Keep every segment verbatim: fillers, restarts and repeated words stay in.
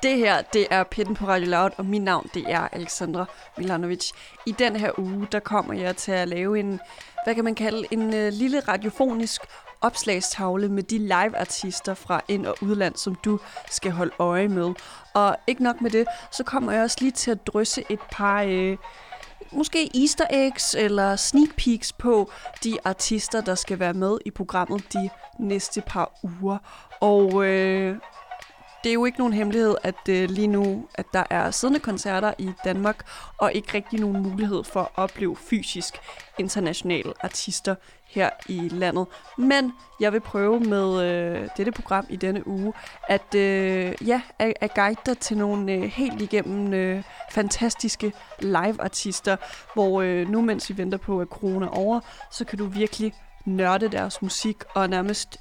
Det her, det er Pitten på Radio Loud, og mit navn, det er Alexandra Milanovic. I den her uge, der kommer jeg til at lave en, hvad kan man kalde, en uh, lille radiofonisk opslagstavle med de live-artister fra ind- og udland, som du skal holde øje med. Og ikke nok med det, så kommer jeg også lige til at drysse et par, øh, måske easter eggs eller sneak peeks på de artister, der skal være med i programmet de næste par uger. Og øh, det er jo ikke nogen hemmelighed, at øh, lige nu, at der er siddende koncerter i Danmark, og ikke rigtig nogen mulighed for at opleve fysisk internationale artister her i landet. Men jeg vil prøve med øh, dette program i denne uge, at øh, ja, at, at guide dig til nogle øh, helt igennem øh, fantastiske live-artister, hvor øh, nu, mens vi venter på, at corona er over, så kan du virkelig nørde deres musik og nærmest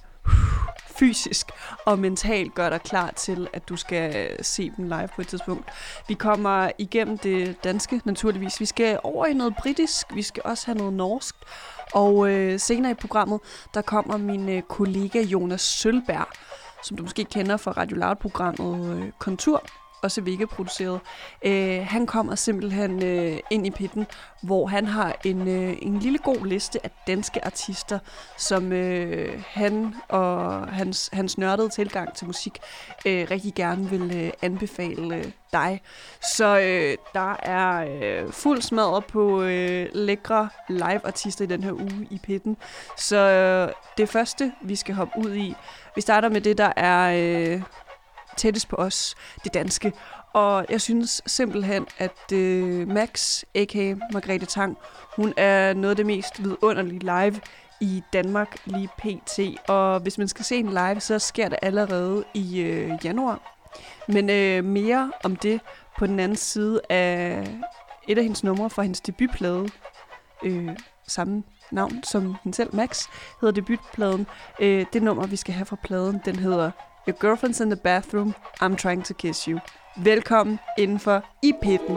fysisk og mentalt gør dig klar til, at du skal se dem live på et tidspunkt. Vi kommer igennem det danske, naturligvis. Vi skal over i noget britisk, vi skal også have noget norsk. Og øh, senere i programmet, der kommer min øh, kollega Jonas Sølberg, som du måske kender fra Radio Loud-programmet øh, Kontur, også Vega-produceret. Øh, han kommer simpelthen øh, ind i pitten, hvor han har en, øh, en lille god liste af danske artister, som øh, han og hans, hans nørdede tilgang til musik øh, rigtig gerne vil øh, anbefale øh, dig. Så øh, der er øh, fuld smadret på øh, lækre live-artister i den her uge i pitten. Så øh, det første, vi skal hoppe ud i, vi starter med det, der er Øh, tættest på os, det danske. Og jeg synes simpelthen, at øh, Max, a k a. Margrethe Tang, hun er noget af det mest vidunderlige live i Danmark lige pt. Og hvis man skal se en live, så sker det allerede i øh, januar. Men øh, mere om det på den anden side af et af hendes numre fra hendes debutplade. Øh, samme navn som hende selv, Max, hedder debutpladen. Øh, det nummer, vi skal have fra pladen, den hedder Your Girlfriend's in the Bathroom, I'm Trying to Kiss You. Velkommen indenfor i pitten.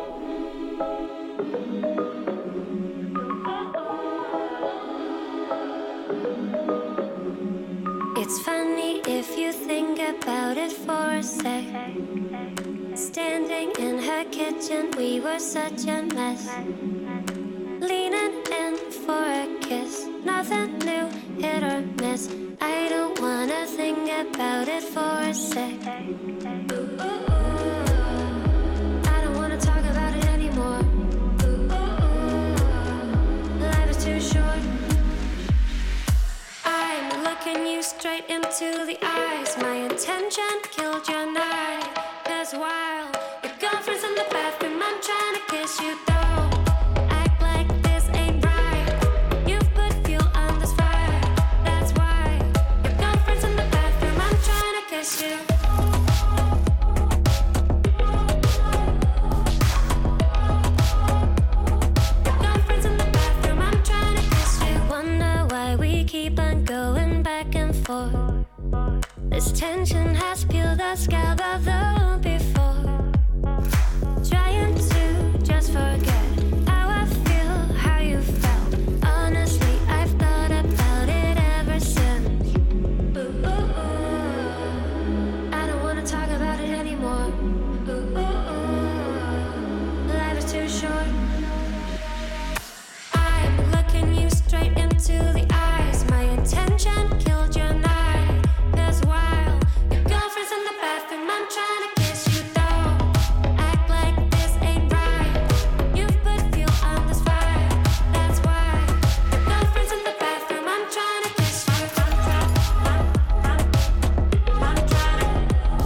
It's funny if you think about it for a sec. Standing in her kitchen, we were such a mess. Leaning in for a kiss, nothing new, hit or miss. I don't wanna think about it for a sec. Ooh, ooh, ooh. I don't wanna talk about it anymore. Ooh, ooh, ooh. Life is too short. I'm looking you straight into the eyes. My intention killed your night. Cause while your girlfriend's in the bathroom, I'm trying to kiss you though. This tension has peeled the scab of the before. Trying to just forget how I feel, how you felt. Honestly, I've thought about it ever since. Ooh, ooh, ooh. I don't wanna talk about it anymore. Ooh, ooh, ooh. Life is too short. I'm looking you straight into the eyes. My intention killed your night. While your girlfriend's in the bathroom, I'm trying to kiss you though. Act like this ain't right. You've put fuel on this fire. That's why your girlfriend's in the bathroom, I'm trying to kiss you. I'm trying, I'm, I'm, I'm trying to.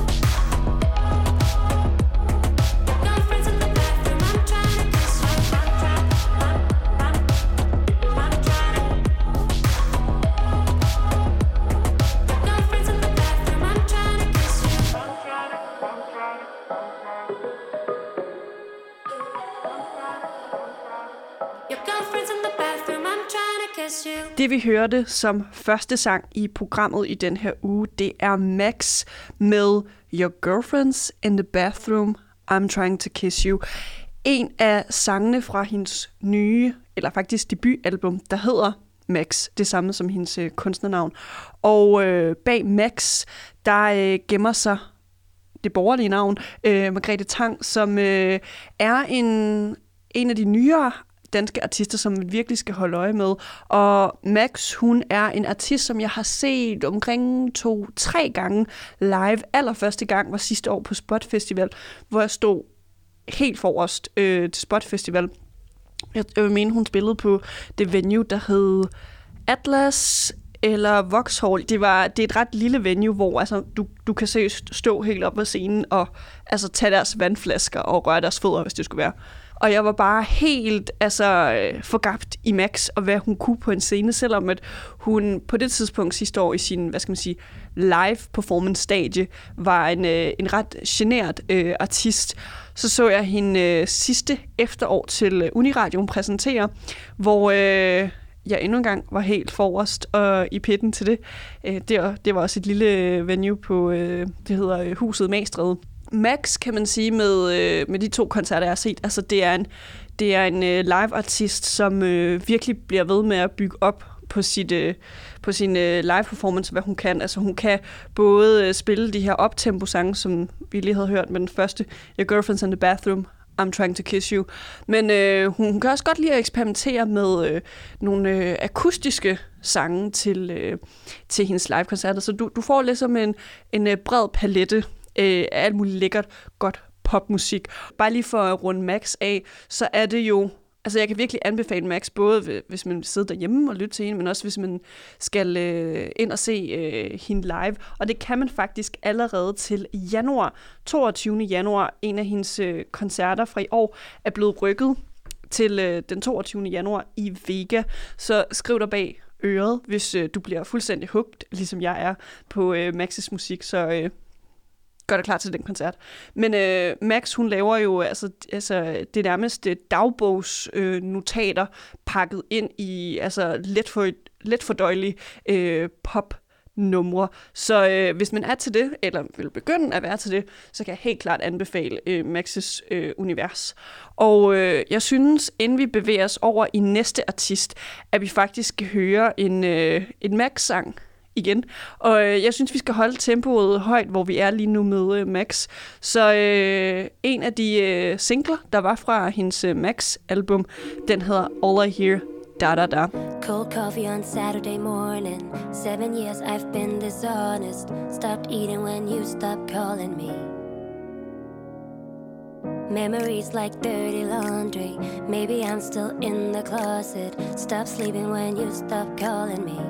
Your girlfriend's in the bathroom, I'm trying to kiss you. I'm trying, I'm, I'm, I'm trying to. Det vi hørte som første sang i programmet i den her uge, det er Max med Your Girlfriend's in the Bathroom, I'm Trying to Kiss You. En af sangene fra hendes nye, eller faktisk debutalbum, der hedder Max, det samme som hendes øh, kunstnernavn. Og øh, bag Max, der øh, gemmer sig det borgerlige navn, øh, Margrethe Tang, som øh, er en, en af de nyere danske artister, som man virkelig skal holde øje med. Og Max, hun er en artist, som jeg har set omkring to-tre gange live. Allerførste gang var sidste år på Spot Festival, hvor jeg stod helt forrest øh, til Spot Festival. Jeg, jeg vil mene, hun spillede på det venue, der hed Atlas eller Vauxhall. Det, var, det er et ret lille venue, hvor altså, du, du kan seriøst stå helt op på scenen og altså, tage deres vandflasker og røre deres fødder, hvis det skulle være. Og jeg var bare helt altså, forgabt i Max, og hvad hun kunne på en scene, selvom at hun på det tidspunkt sidste år i sin, hvad skal man sige, live performance stage var en, en ret genert øh, artist. Så så jeg hende øh, sidste efterår til Uniradioen præsentere, hvor øh, jeg endnu en gang var helt forrest og i pitten til det. Øh, det, det var også et lille venue på, øh, det hedder Huset Magstræde. Max, kan man sige, med, øh, med de to koncerter, jeg har set, altså det er en, det er en øh, live-artist, som øh, virkelig bliver ved med at bygge op på, sit, øh, på sin øh, live-performance, hvad hun kan. Altså hun kan både øh, spille de her optempo-sange, som vi lige havde hørt med den første, Your Girlfriend's in the Bathroom, I'm Trying to Kiss You. Men øh, hun, hun kan også godt lide at eksperimentere med øh, nogle øh, akustiske sange til, øh, til hendes live-koncerter. Så du, du får ligesom en, en øh, bred palette af alt muligt lækkert, godt popmusik. Bare lige for at runde Max af, så er det jo, altså jeg kan virkelig anbefale Max, både hvis man sidder derhjemme og lytter til hende, men også hvis man skal øh, ind og se øh, hende live. Og det kan man faktisk allerede til januar, toogtyvende januar. En af hendes øh, koncerter fra i år er blevet rykket til øh, den toogtyvende januar i Vega. Så skriv dig bag øret, hvis øh, du bliver fuldstændig hugt, ligesom jeg er på øh, Max's musik, så øh, gør dig klar til den koncert. Men øh, Max, hun laver jo altså, altså det nærmeste dagbogsnotater øh, pakket ind i altså let, for, let fordøjelige øh, popnumre. Så øh, hvis man er til det, eller vil begynde at være til det, så kan jeg helt klart anbefale øh, Max's øh, univers. Og øh, jeg synes, inden vi bevæger os over i næste artist, at vi faktisk skal høre en, øh, en Max-sang igen. Og øh, jeg synes, vi skal holde tempoet højt, hvor vi er lige nu med øh, Max. Så øh, en af de øh, singler, der var fra hendes øh, Max-album, den hedder All I Hear, Da Da Da. Cold coffee on Saturday morning. Seven years I've been dishonest. Stopped eating when you stopped calling me. Memories like dirty laundry. Maybe I'm still in the closet. Stop sleeping when you stopped calling me.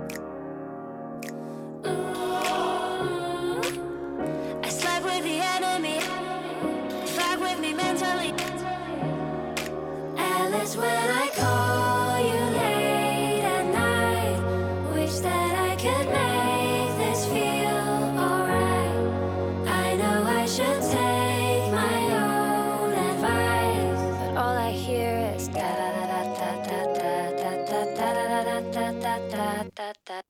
When I call you late at night, wish that I could make this feel alright. I know I should take my own advice, but all I hear is da da da da da da da da da da da da da da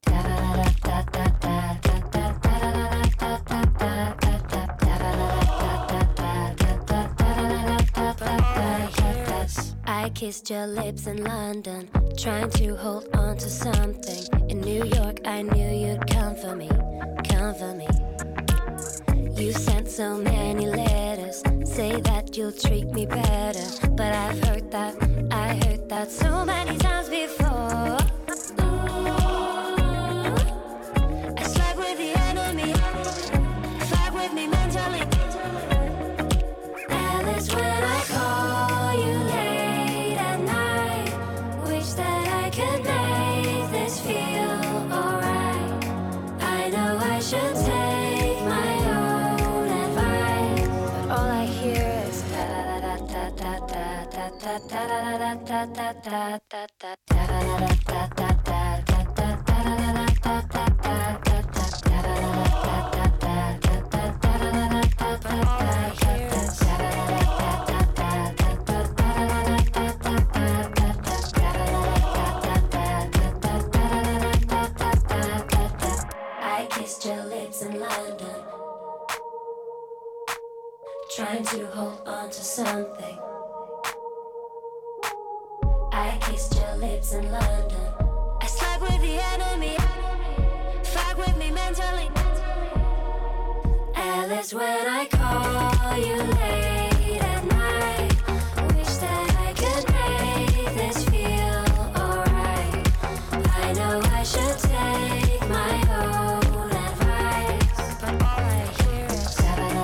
I kissed your lips in London, trying to hold on to something. In New York, I knew you'd come for me, come for me. You sent so many letters, say that you'll treat me better. But I've heard that, I heard that so many times before. Ooh, I slept with the enemy, fight with me mentally. Alice, when I call you late at night, wish that I could make this feel alright. I know I should take my own advice, but all I hear is da da da da da da da da da da da da da da da da da da. Trying to hold on to something. I kissed your lips in London. I slept with the enemy, fight with me mentally. Alice. tears when I call you late at night. Wish that I could make this feel alright. I know I should take my own advice, but all I hear is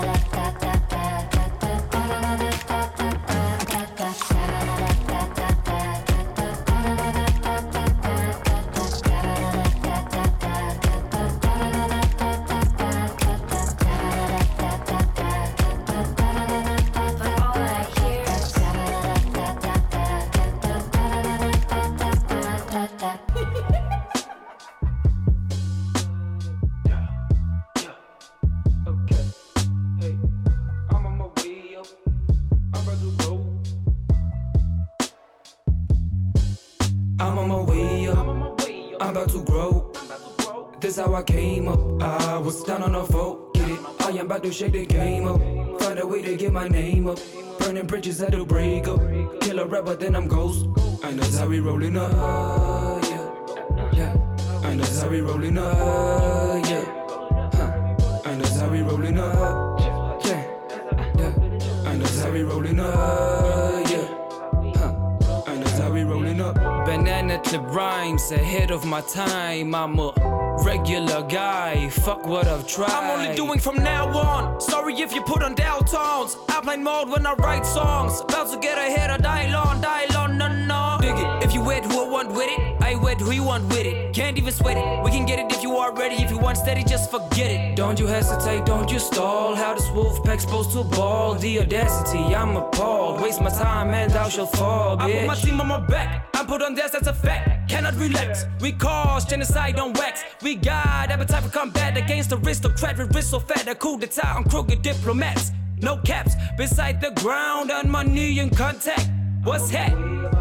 how I came up. I was down on the floor, get it. I am about to shake the game up. Find a way to get my name up. Burning bridges that'll break up. Kill a rapper, then I'm ghost. And that's how we rollin' up, yeah, yeah. And that's how we rollin' up, yeah, huh. And that's how we rollin' up, yeah, yeah. And that's how we rollin' up, yeah, huh. And that's how we rollin' up. Banana clip rhymes ahead of my time. I'm a regular guy, fuck what I've tried. I'm only doing from now on. Sorry if you put on dial tones. Airplane mode when I write songs. About to get ahead of dial on, dial on, no, no. Dig it, if you wet who I want with it, I wet who you want with it. Can't even sweat it, we can get it if you are ready. If you want steady, just forget it. Don't you hesitate, don't you stall. How this wolf pack supposed to ball? The audacity, I'm appalled. Waste my time and thou shalt fall, bitch. I put my team on my back, I'm put on this, that's a fact. Cannot relax, we cause genocide on wax. We got appetite for combat against the aristocrat with wrist so fat. A coup d'etat on crooked diplomats. No caps, beside the ground on my knee in contact. What's that?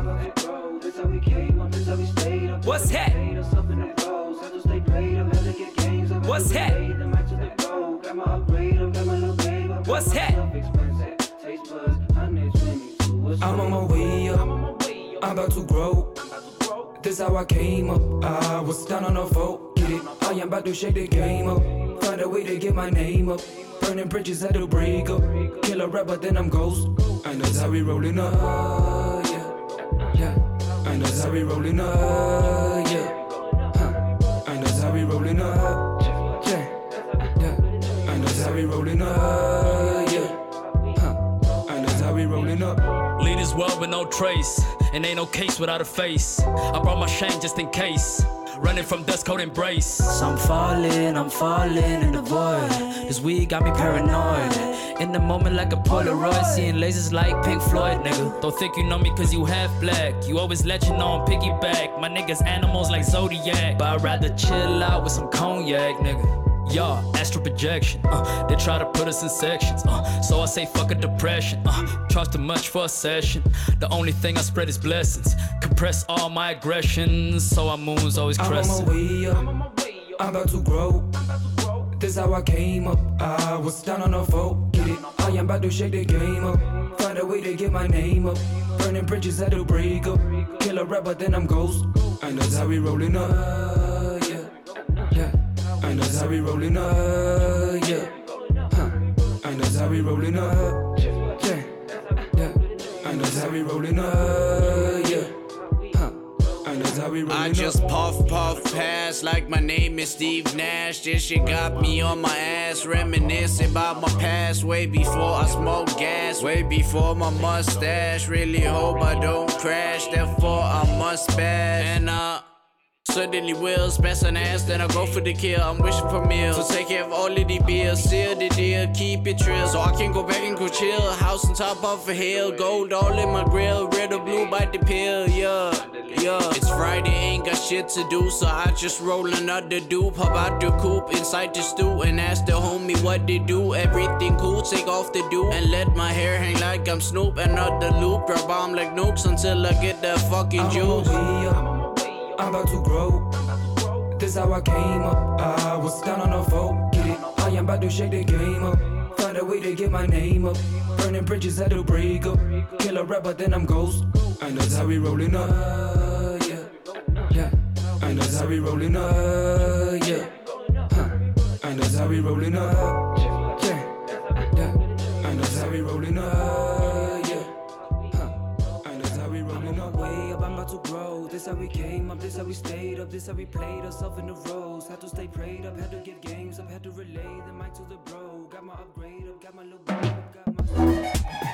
What's that? What's that? What's that? I'm on my way up, I'm about to grow. This how I came up, I was down on the floor, get it. I am about to shake the game up. Find a way to get my name up. Burning bridges that'll break up. Kill a rapper, then I'm ghost. And that's how we rollin' up, yeah, yeah. And that's how we rollin' up, yeah, huh. And that's how we rollin' up, yeah, yeah. And that's how we rollin' up, yeah, huh. And that's how we rollin' up. Lead this world with no trace, and ain't no case without a face. I brought my shame just in case. Running from dust cold embrace. So I'm falling, I'm falling in the void. This weed got me paranoid. In the moment like a Polaroid. Seeing lasers like Pink Floyd, nigga. Don't think you know me cause you half black. You always legend on piggyback. My niggas animals like Zodiac. But I'd rather chill out with some cognac, nigga. Yeah, astral projection, uh, they try to put us in sections, uh, so I say fuck a depression, uh, charge too much for a session. The only thing I spread is blessings, compress all my aggressions, so our moon's always crescent. I'm on my way up, I'm about to grow. This how I came up, I was down on the floor, get it. I am about to shake the game up, find a way to get my name up. Burning bridges that'll break up, kill a rapper then I'm ghost. And that's how we rollin' up, yeah, yeah. And that's how we rollin' up, yeah, huh. And that's how we rollin' up, yeah, yeah. And that's how we rollin' up, yeah, huh. And that's how we rollin' up. I just puff, puff, pass like my name is Steve Nash. This shit got me on my ass, reminiscing about my past. Way before I smoked gas, way before my mustache. Really hope I don't crash, therefore I must bash. And uh suddenly will smash an ass, then I go for the kill. I'm wishing for meals, so take care of all of the bills. Seal the deal, keep it trill, so I can go back and go chill. House on top of a hill, gold all in my grill. Red or blue, bite the pill, yeah, yeah. It's Friday, ain't got shit to do, so I just roll another dupe. Hop out the coop inside the stew and ask the homie what they do. Everything cool, take off the do and let my hair hang like I'm Snoop. Another loop, drop bomb like nukes until I get that fucking juice. I'm about to grow. This how I came up, I was down on the floor, get it. I am about to shake the game up, find a way to get my name up. Burning bridges that'll break up, kill a rapper then I'm ghost. And that's how we rollin' up, yeah, yeah. And that's how we rollin' up, yeah, huh. And that's how we rollin' up, yeah, we rolling up, yeah. Huh. And that's how we rolling up. Way up, I'm about to grow. This how we came up, this how we stayed up, this how we played ourselves in the rows. Had to stay prayed up, had to get games up, had to relay the mic to the bro. Got my upgrade up, got my little bro up, got my...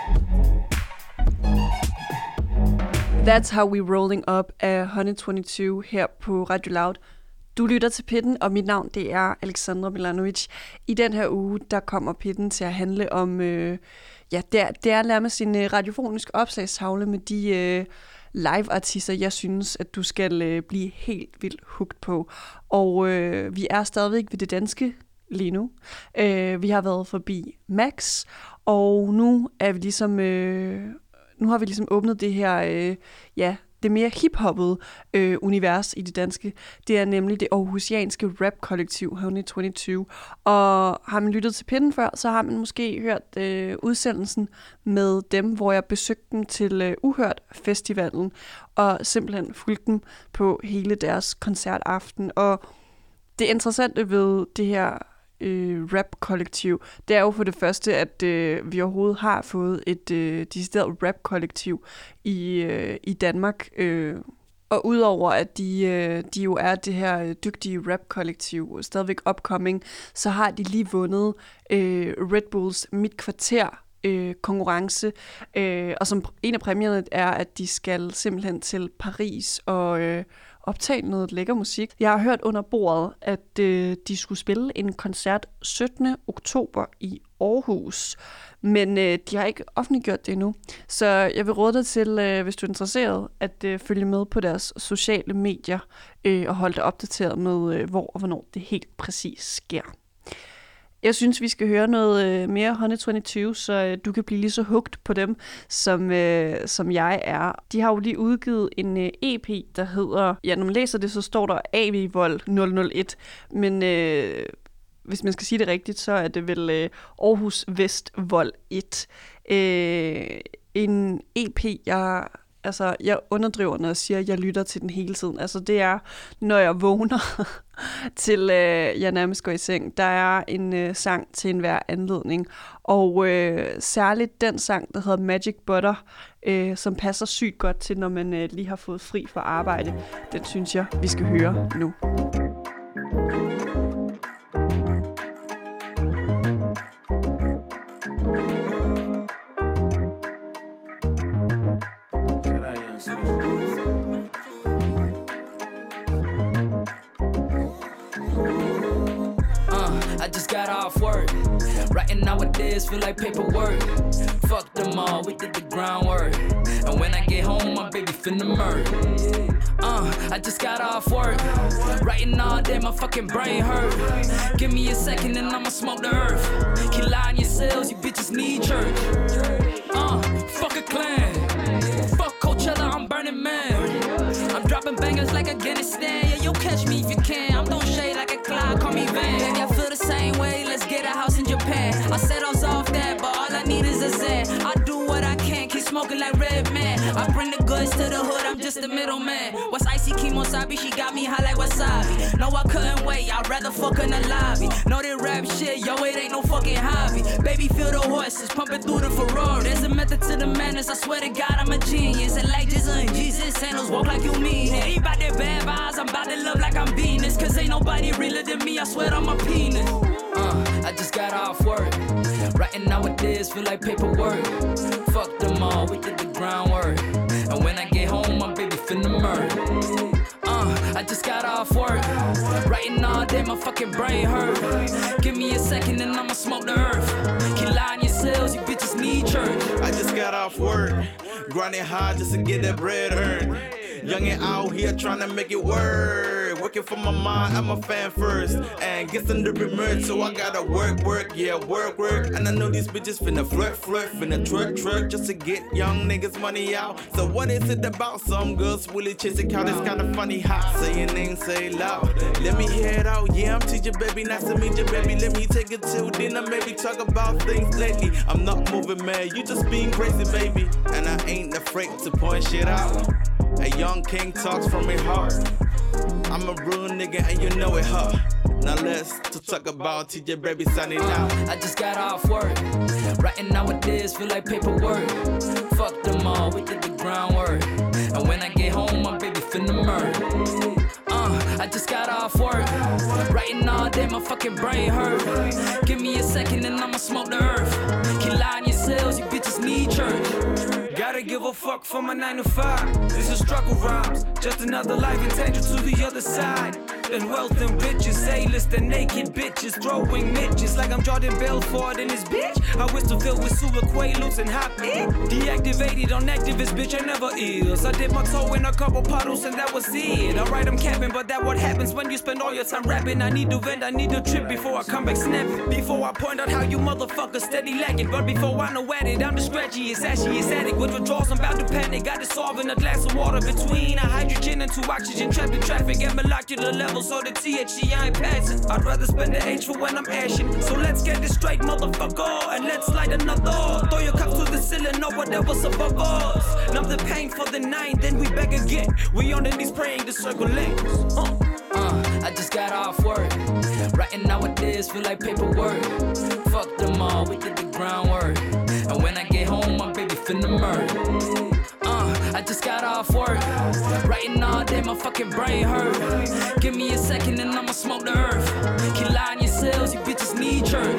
That's How We Rolling Up af et hundrede toogtyve her på Radio Loud. Du lytter til Pitten, og mit navn det er Alexandra Milanovic. I den her uge, der kommer Pitten til at handle om, øh, ja, det er, det er nærmest en øh, radiofonisk opslagstavle med de øh, live-artister, jeg synes, at du skal øh, blive helt vildt hooked på. Og øh, vi er stadigvæk ved det danske lige nu. Øh, vi har været forbi Max, og nu er vi ligesom... Øh, Nu har vi ligesom åbnet det her, øh, ja, det mere hip-hoppede øh, univers i det danske. Det er nemlig det aarhusianske rap-kollektiv et hundrede toogtyve. Og har man lyttet til Pitten før, så har man måske hørt øh, udsendelsen med dem, hvor jeg besøgte dem til øh, Uhørt-festivalen, og simpelthen fulgte dem på hele deres koncertaften. Og det interessante ved det her Øh, rap-kollektiv, det er jo for det første, at øh, vi overhovedet har fået et øh, decideret rap-kollektiv i, øh, i Danmark. Øh, og udover at de, øh, de jo er det her dygtige rap-kollektiv, stadigvæk upcoming, så har de lige vundet øh, Red Bulls Mit Kvarter øh, konkurrence. Øh, og som en af præmierne er, at de skal simpelthen til Paris og øh, optage noget lækker musik. Jeg har hørt under bordet, at øh, de skulle spille en koncert syttende oktober i Aarhus, men øh, de har ikke offentliggjort det endnu. Så jeg vil råde dig til, øh, hvis du er interesseret, at øh, følge med på deres sociale medier øh, og holde dig opdateret med, øh, hvor og hvornår det helt præcis sker. Jeg synes, vi skal høre noget øh, mere et hundrede toogtyve, så øh, du kan blive lige så hooked på dem, som, øh, som jeg er. De har jo lige udgivet en øh, E P, der hedder... Ja, når man læser det, så står der A V Vold nul nul et, men øh, hvis man skal sige det rigtigt, så er det vel øh, Aarhus Vest Vold et. Øh, en E P, jeg... Altså, jeg underdriver, når jeg siger, at jeg lytter til den hele tiden. Altså, det er, når jeg vågner til, øh, jeg nærmest går i seng. Der er en øh, sang til enhver anledning. Og øh, særligt den sang, der hedder Magic Butter, øh, som passer sygt godt til, når man øh, lige har fået fri fra arbejde. Den synes jeg, vi skal høre nu. Got off work. Writing nowadays feel like paperwork. Fuck them all, we did the groundwork. And when I get home, my baby finna murder. Uh, I just got off work. Writing all day, my fucking brain hurt. Give me a second and I'ma smoke the earth. Keep lying yourselves, you bitches need church. Uh, fuck a clan. Fuck Coachella, I'm Burning Man. I'm dropping bangers like Afghanistan. Yeah, you'll catch me if you can. I'm throwing shade like a cloud, call me Van. Baby, I feel the same way, let's get a house in Japan. I said I was off that, but all I need is a Zan. I do what I can, keep smoking like Red Man. I bring the goods to the hood, I'm just a middleman. What's icy Kimosabi, she got me high like wasabi. No, I couldn't wait, I'd rather fuck in the lobby. Know that rap shit, yo, it ain't no fucking hobby. Baby, feel the horses pumping through the Ferrari. There's a method to the madness, I swear to God, I'm a genius. And like Jesus and Jesus, sandals walk like you mean it. Ain't about that bad vibes, I'm about to love like I'm Venus. Cause ain't nobody realer than me, I swear I'm a penis. Uh, I just got off work. Writing nowadays feel like paperwork. Fuck them all, we did the groundwork. And when I get home, my baby finna murder. Uh, I just got off work. Writing all day, my fucking brain hurt. Give me a second and I'ma smoke the earth. Keep lying yourselves, you bitches need church. I just got off work. Grinding hard just to get that bread earned. Young and out here trying to make it work. Working for my mind, I'm a fan first. And get some to merch, so I gotta work, work, yeah, work, work. And I know these bitches finna flirt, flirt, finna twerk, twerk, just to get young niggas money out. So what is it about? Some girls really chasing count, it's kinda funny how say your name, say it loud. Let me hear it out, yeah, I'm teaching, baby, nice to meet you, baby. Let me take it to dinner, maybe talk about things lately. I'm not moving mad, you just being crazy, baby. And I ain't afraid to point shit out. A young king talks from his heart. I'm a real nigga and you know it, huh? Now let's to talk about T J Baby signing out. I just got off work. Writing nowadays feel like paperwork. Fuck them all, we did the groundwork. And when I get home, my baby finna murder. Uh, I just got off work. Writing all day, my fucking brain hurt. Give me a second and I'ma smoke the earth. Keep lying yourselves, you bitches need church. Gotta give a fuck for my nine to five. This is struggle rhymes, just another life in danger to the other side. And wealth and riches, A-list and naked bitches throwing midgets like I'm Jordan Belfort in this bitch. I wish to fill with super quaaludes and hop in. Deactivated on activist, bitch, I never is. I did my toe in a couple puddles and that was it. Alright, I'm capping, but that what happens when you spend all your time rapping. I need to vent, I need to trip before I come back snapping. Before I point out how you motherfuckers steady lacking. But before I know at it, I'm the scratchiest, ashiest addict. With withdrawals, I'm about to panic. Got dissolved in a glass of water between a hydrogen and two oxygen trapped in traffic at molecular level. So the T H C I ain't passing. I'd rather spend the H for when I'm ashing. So let's get this straight, motherfucker, and let's light another. Throw your cups to the ceiling or whatever's above us. Numb the pain for the night, then we back again. We on the knees praying the circle links. Uh. Uh, I just got off work. Writing nowadays feel like paperwork. Fuck them all, we did the groundwork. And when I get home, my baby finna murder. Uh, I just got off work. Writing all day, my fucking brain hurt. Give me a second and I'ma smoke the earth. Keep lying yourselves, you bitches need church.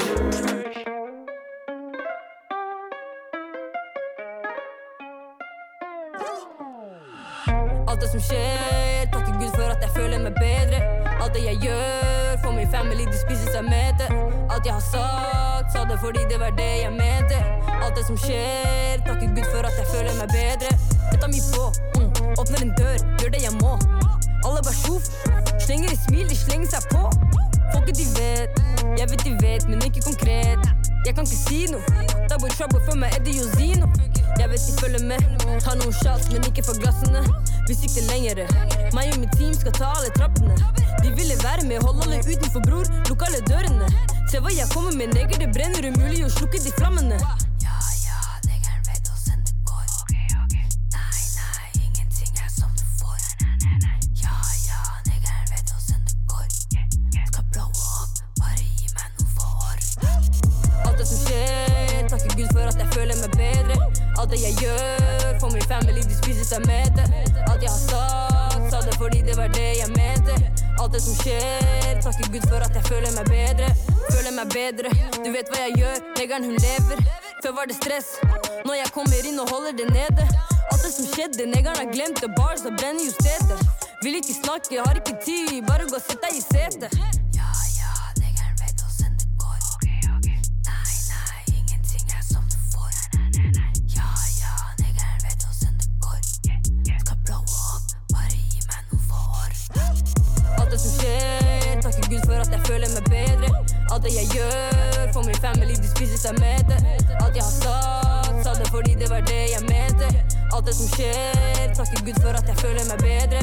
Alt det som skjer, takker Gud for at jeg føler meg bedre. Alt det jeg gjør, for min family, de spiser seg med det. Alt jeg har sagt, sa det fordi det var det jeg mente. Alt det som skjer, takker Gud for at jeg føler meg bedre. Jeg tar mye på, mm. åpner en dør, gjør det jeg må. Alle bare sjuf, slenger i smil, de slenger seg på. Folket de vet, jeg vet de vet, men ikke konkret. Jeg kan ikke si noe, double trouble for meg, Eddie og Zino. Jeg vet de følger med, tar noen shots, men ikke for glassene. Vi sikter lengre, meg og mitt team skal ta alle trappene. De ville være med, hold alle utenfor bror, lukk alle dørene. Se hva jeg kommer med, neger det brenner umulig å slukke de flammene. Ja, ja, negeren vet hvordan det går. Nei, nei, ingenting er som du får. Ja, ja, negeren vet hvordan det går. Skal blow up, bare gi meg noen få år. Alt det som skjer, takker Gud for at jeg føler meg bedre. Alt det jeg gjør, for min family, de spiser seg med det. Alt jeg har sagt, sa det fordi det var det jeg mente. Alt det som skjer, takker Gud for at jeg føler meg bedre. Føler meg bedre, du vet hva jeg gjør, negeren hun lever. Før var det stress, når jeg kommer inn og holder det nede. Alt det som skjedde, negeren har glemt det, bars og brenner jo stedet. Vil ikke snakke, har ikke tid, bare gå og sett deg i sete. Ja, ja, negeren vet hvordan det går. Nei, nei, ingenting er som du får. Ja, ja, negeren vet hvordan det går. Skal blow up, bare gi meg noen få år. Alt det som skjer, takker Gud for at jeg føler meg bedre. Alt det jeg gjør, for min family, de spiser seg med det. Alt jeg har sagt, sa det fordi det var det jeg mente. Alt det som skjer, takker Gud for at jeg føler meg bedre.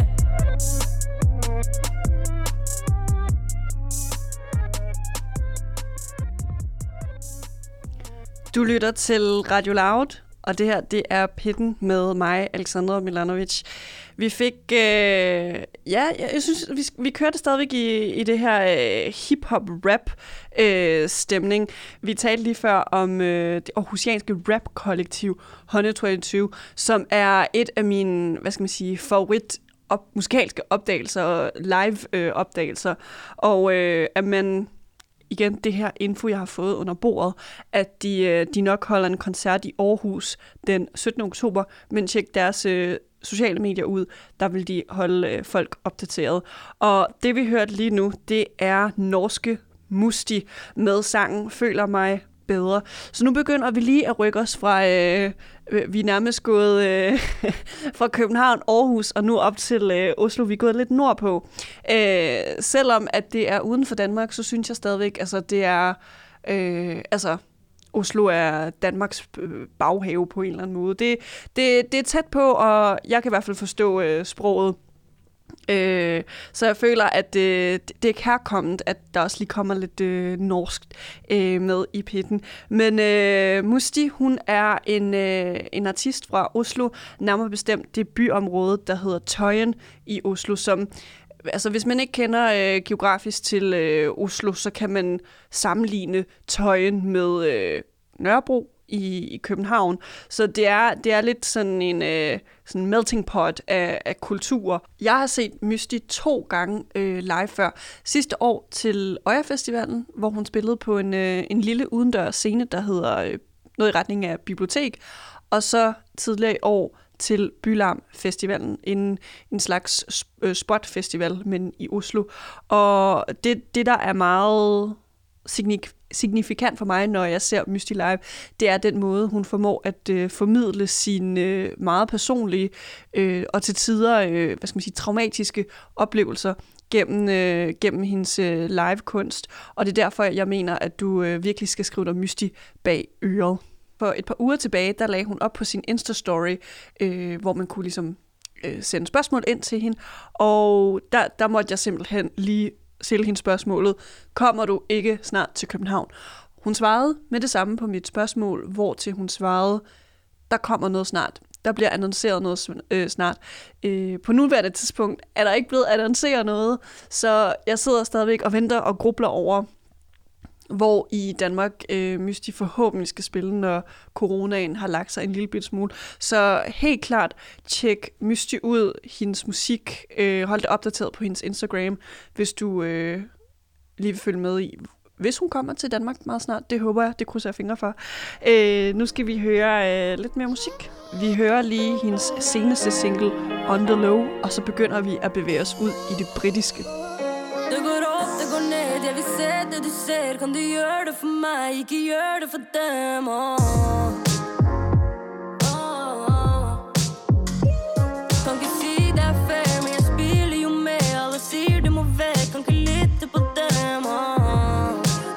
Du lytter til Radio Loud, og det her, det er Pitten med mig, Alexandra Milanovic. Vi fik, øh, ja, jeg synes, vi, vi kørte stadigvæk i, i det her øh, hip-hop-rap-stemning. Øh, vi talte lige før om øh, det aarhusianske rap-kollektiv et hundrede og toogtyve, som er et af mine, hvad skal man sige, favorit op, musikalske opdagelser og live-opdagelser. Øh, og øh, at man... Igen, det her info, jeg har fået under bordet, at de, de nok holder en koncert i Aarhus den syttende oktober, men tjek deres øh, sociale medier ud, der vil de holde øh, folk opdateret. Og det vi hørte lige nu, det er norske Musti med sangen Føler mig bedre. Så nu begynder vi lige at rykke os fra, øh, vi er nærmest gået øh, fra København, Aarhus og nu op til øh, Oslo. Vi er gået lidt nordpå. Øh, selvom at det er uden for Danmark, så synes jeg stadigvæk, altså det er, øh, altså Oslo er Danmarks baghave på en eller anden måde. Det, det, det er tæt på, og jeg kan i hvert fald forstå øh, sproget. Øh, så jeg føler, at øh, det er kærkomment, at der også lige kommer lidt øh, norsk øh, med i pitten. Men øh, Musti, hun er en, øh, en artist fra Oslo, nærmere bestemt det byområde, der hedder Tøyen i Oslo, som altså hvis man ikke kender øh, geografisk til øh, Oslo, så kan man sammenligne Tøyen med øh, Nørrebro i, i København. Så det er, det er lidt sådan en øh, sådan melting pot af, af kulturer. Jeg har set Mystii to gange øh, live før. Sidste år til Øya Festivalen, hvor hun spillede på en, øh, en lille udendørs scene, der hedder øh, noget i retning af bibliotek. Og så tidligere i år til Bylarm Festivalen, en, en slags spotfestival, men i Oslo. Og det, det der er meget signifikant for mig, når jeg ser Mystii live, det er den måde, hun formår at øh, formidle sine øh, meget personlige øh, og til tider øh, hvad skal man sige, traumatiske oplevelser gennem, øh, gennem hendes øh, live-kunst. Og det er derfor, jeg mener, at du øh, virkelig skal skrive dig Mystii bag øret. For et par uger tilbage, der lagde hun op på sin Insta-story, øh, hvor man kunne ligesom øh, sende spørgsmål ind til hende. Og der, der måtte jeg simpelthen lige stille hende spørgsmålet, kommer du ikke snart til København? Hun svarede med det samme på mit spørgsmål, hvor til hun svarede, der kommer noget snart. Der bliver annonceret noget øh, snart. Øh, på nuværende tidspunkt er der ikke blevet annonceret noget, så jeg sidder stadigvæk og venter og grubler over, hvor i Danmark øh, Mystii forhåbentlig skal spille, når coronaen har lagt sig en lille bit smule. Så helt klart, tjek Mystii ud, hendes musik, øh, hold det opdateret på hendes Instagram, hvis du øh, lige vil følge med i, hvis hun kommer til Danmark meget snart. Det håber jeg, det krydser jeg fingre for. Øh, nu skal vi høre øh, lidt mere musik. Vi hører lige hendes seneste single, On The Low, og så begynder vi at bevæge os ud i det britiske. Det går op, det går ned, jeg vil se det du ser. Kan du gøre det for mig, ikke gøre det for dem, oh. Oh, oh. Kan ikke sige det er fair, men jeg spiller jo med. Alle siger det må væk, kan ikke lytte på dem, oh.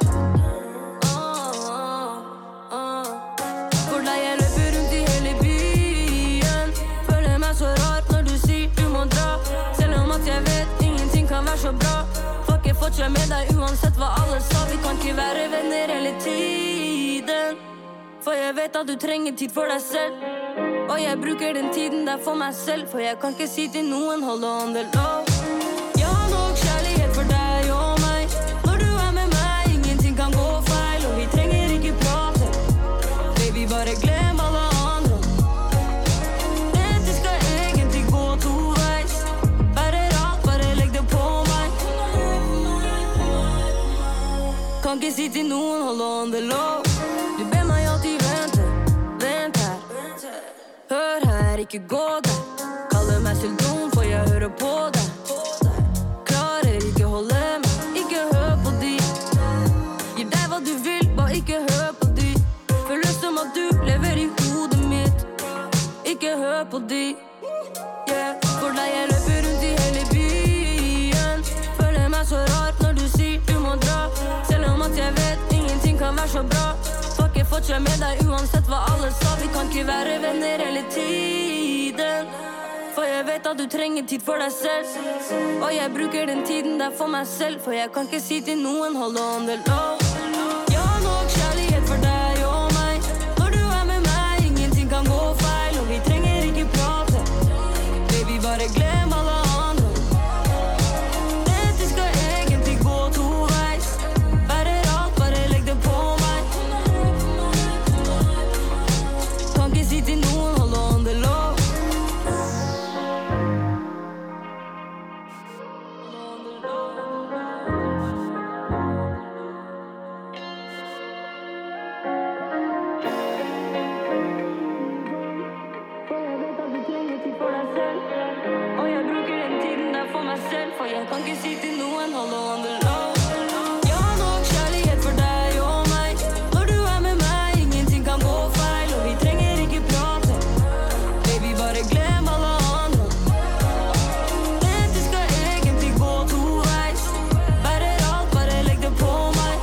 Oh, oh, oh. For dig jeg løber rundt i hele byen. Føler mig så rart når du siger du må dra. Selvom at jeg vet ingenting kan være så bra. Jeg fortsatt med deg uansett hva alle sa. Vi kan ikke være venner hele tiden, for jeg vet at du trenger tid for deg selv. Og jeg bruker den tiden der for meg selv, for jeg kan ikke si til noen hold on the low. Jeg har nok kjærlighet for deg og meg. Når du er med meg, ingenting kan gå feil. Og vi trenger ikke prate, baby, bare glem alle andre. Dette skal egentlig gå to veis. Bare rart, bare legg det på meg. Kan ikke si til noen, hold on the low. Du ber meg alltid vente, vent her. Hør her, ikke gå der. Kaller meg selv dum, for jeg hører på deg. Klarer ikke holde meg, ikke hør på de. Gir deg hva du vil, bare ikke hør på de. Føles som at du lever i hodet mitt. Ikke hør på de, yeah. For deg jeg løper rundt i hele byen. Føler meg så rart når du sier du må dra. Selv om at jeg vet ingenting kan være så bra. Fuck, jeg fortsatt med deg uansett hva alle sa. Vi kan ikke være venner hele tiden, for jeg vet at du trenger tid for deg selv. Og jeg bruker den tiden der for meg selv, for jeg kan ikke si til noen hold on the low. Jeg har nok kjærlighet for deg og meg. Når du er med meg, ingenting kan gå feil. Og vi trenger ikke prate, baby, bare glem alle andre. Dette skal egentlig gå to veis. Bare rart, bare legg det på meg. Kan ikke si til noen hold on the low. For jeg kan ikke si til noen hold on the low. Jeg har nok kjærlighet for deg og meg. Når du er med meg, ingenting kan gå feil. Og vi trenger ikke prate, baby, bare glem alle andre. Dette skal egentlig gå to veis. Bare rart, bare legg det på meg.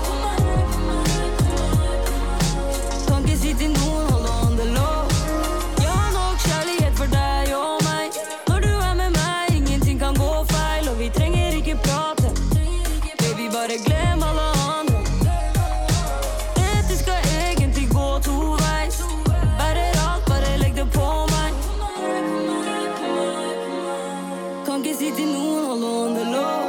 Kan ikke si til noen hold on the low. Jeg har nok kjærlighet for deg og meg. Når du er med meg, ingenting kan gå feil. Vi trenger ikke prate, det til nogen, hold on the low.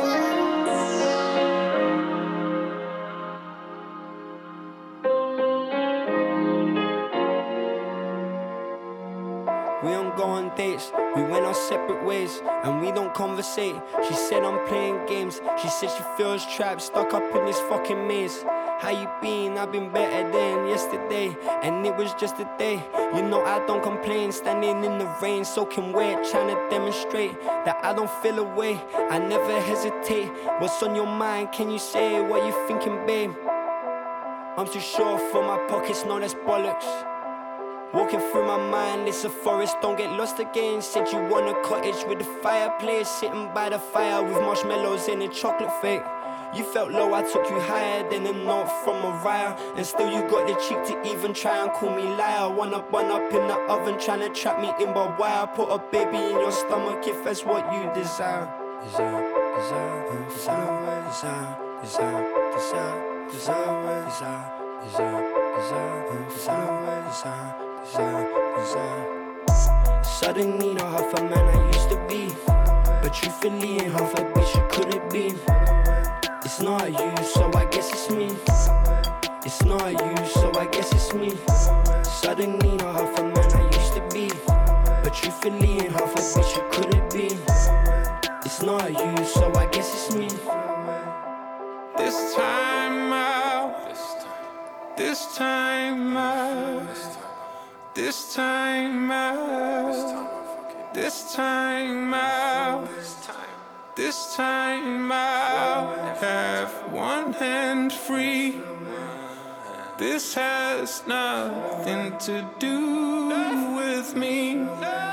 We don't go on dates, we went our separate ways, and we don't conversate. She said I'm playing games, she said she feels trapped, stuck up in this fucking maze. How you been? I've been better than yesterday, and it was just a day. You know I don't complain, standing in the rain, soaking wet, trying to demonstrate that I don't feel away. I never hesitate. What's on your mind? Can you say what you thinking, babe? I'm too short for my pockets, no, that's bollocks. Walking through my mind, it's a forest, don't get lost again. Said you want a cottage with a fireplace, sitting by the fire with marshmallows and a chocolate fake. You felt low, I took you higher than a note from Mariah, and still you got the cheek to even try and call me liar. One up, one up in the oven, trying to trap me in by wire. Put a baby in your stomach if that's what you desire. Desire, desire, desire, desire, desire, desire, desire, desire, desire, desire, desire, desire. Desire, desire. Suddenly not half a man I used to be, but truthfully ain't half a bitch you could have been. It's not you, so I guess it's me. It's not you, so I guess it's me. Suddenly not half a man I used to be, but truthfully ain't half a bitch you could have been. It's not you, so I guess it's me. This time out, this time out. This time out, this time out, this time out, have one hand free. This has nothing to do with me.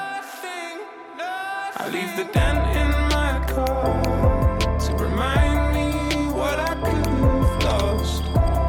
I leave the dent in my car to remind me what I could have lost.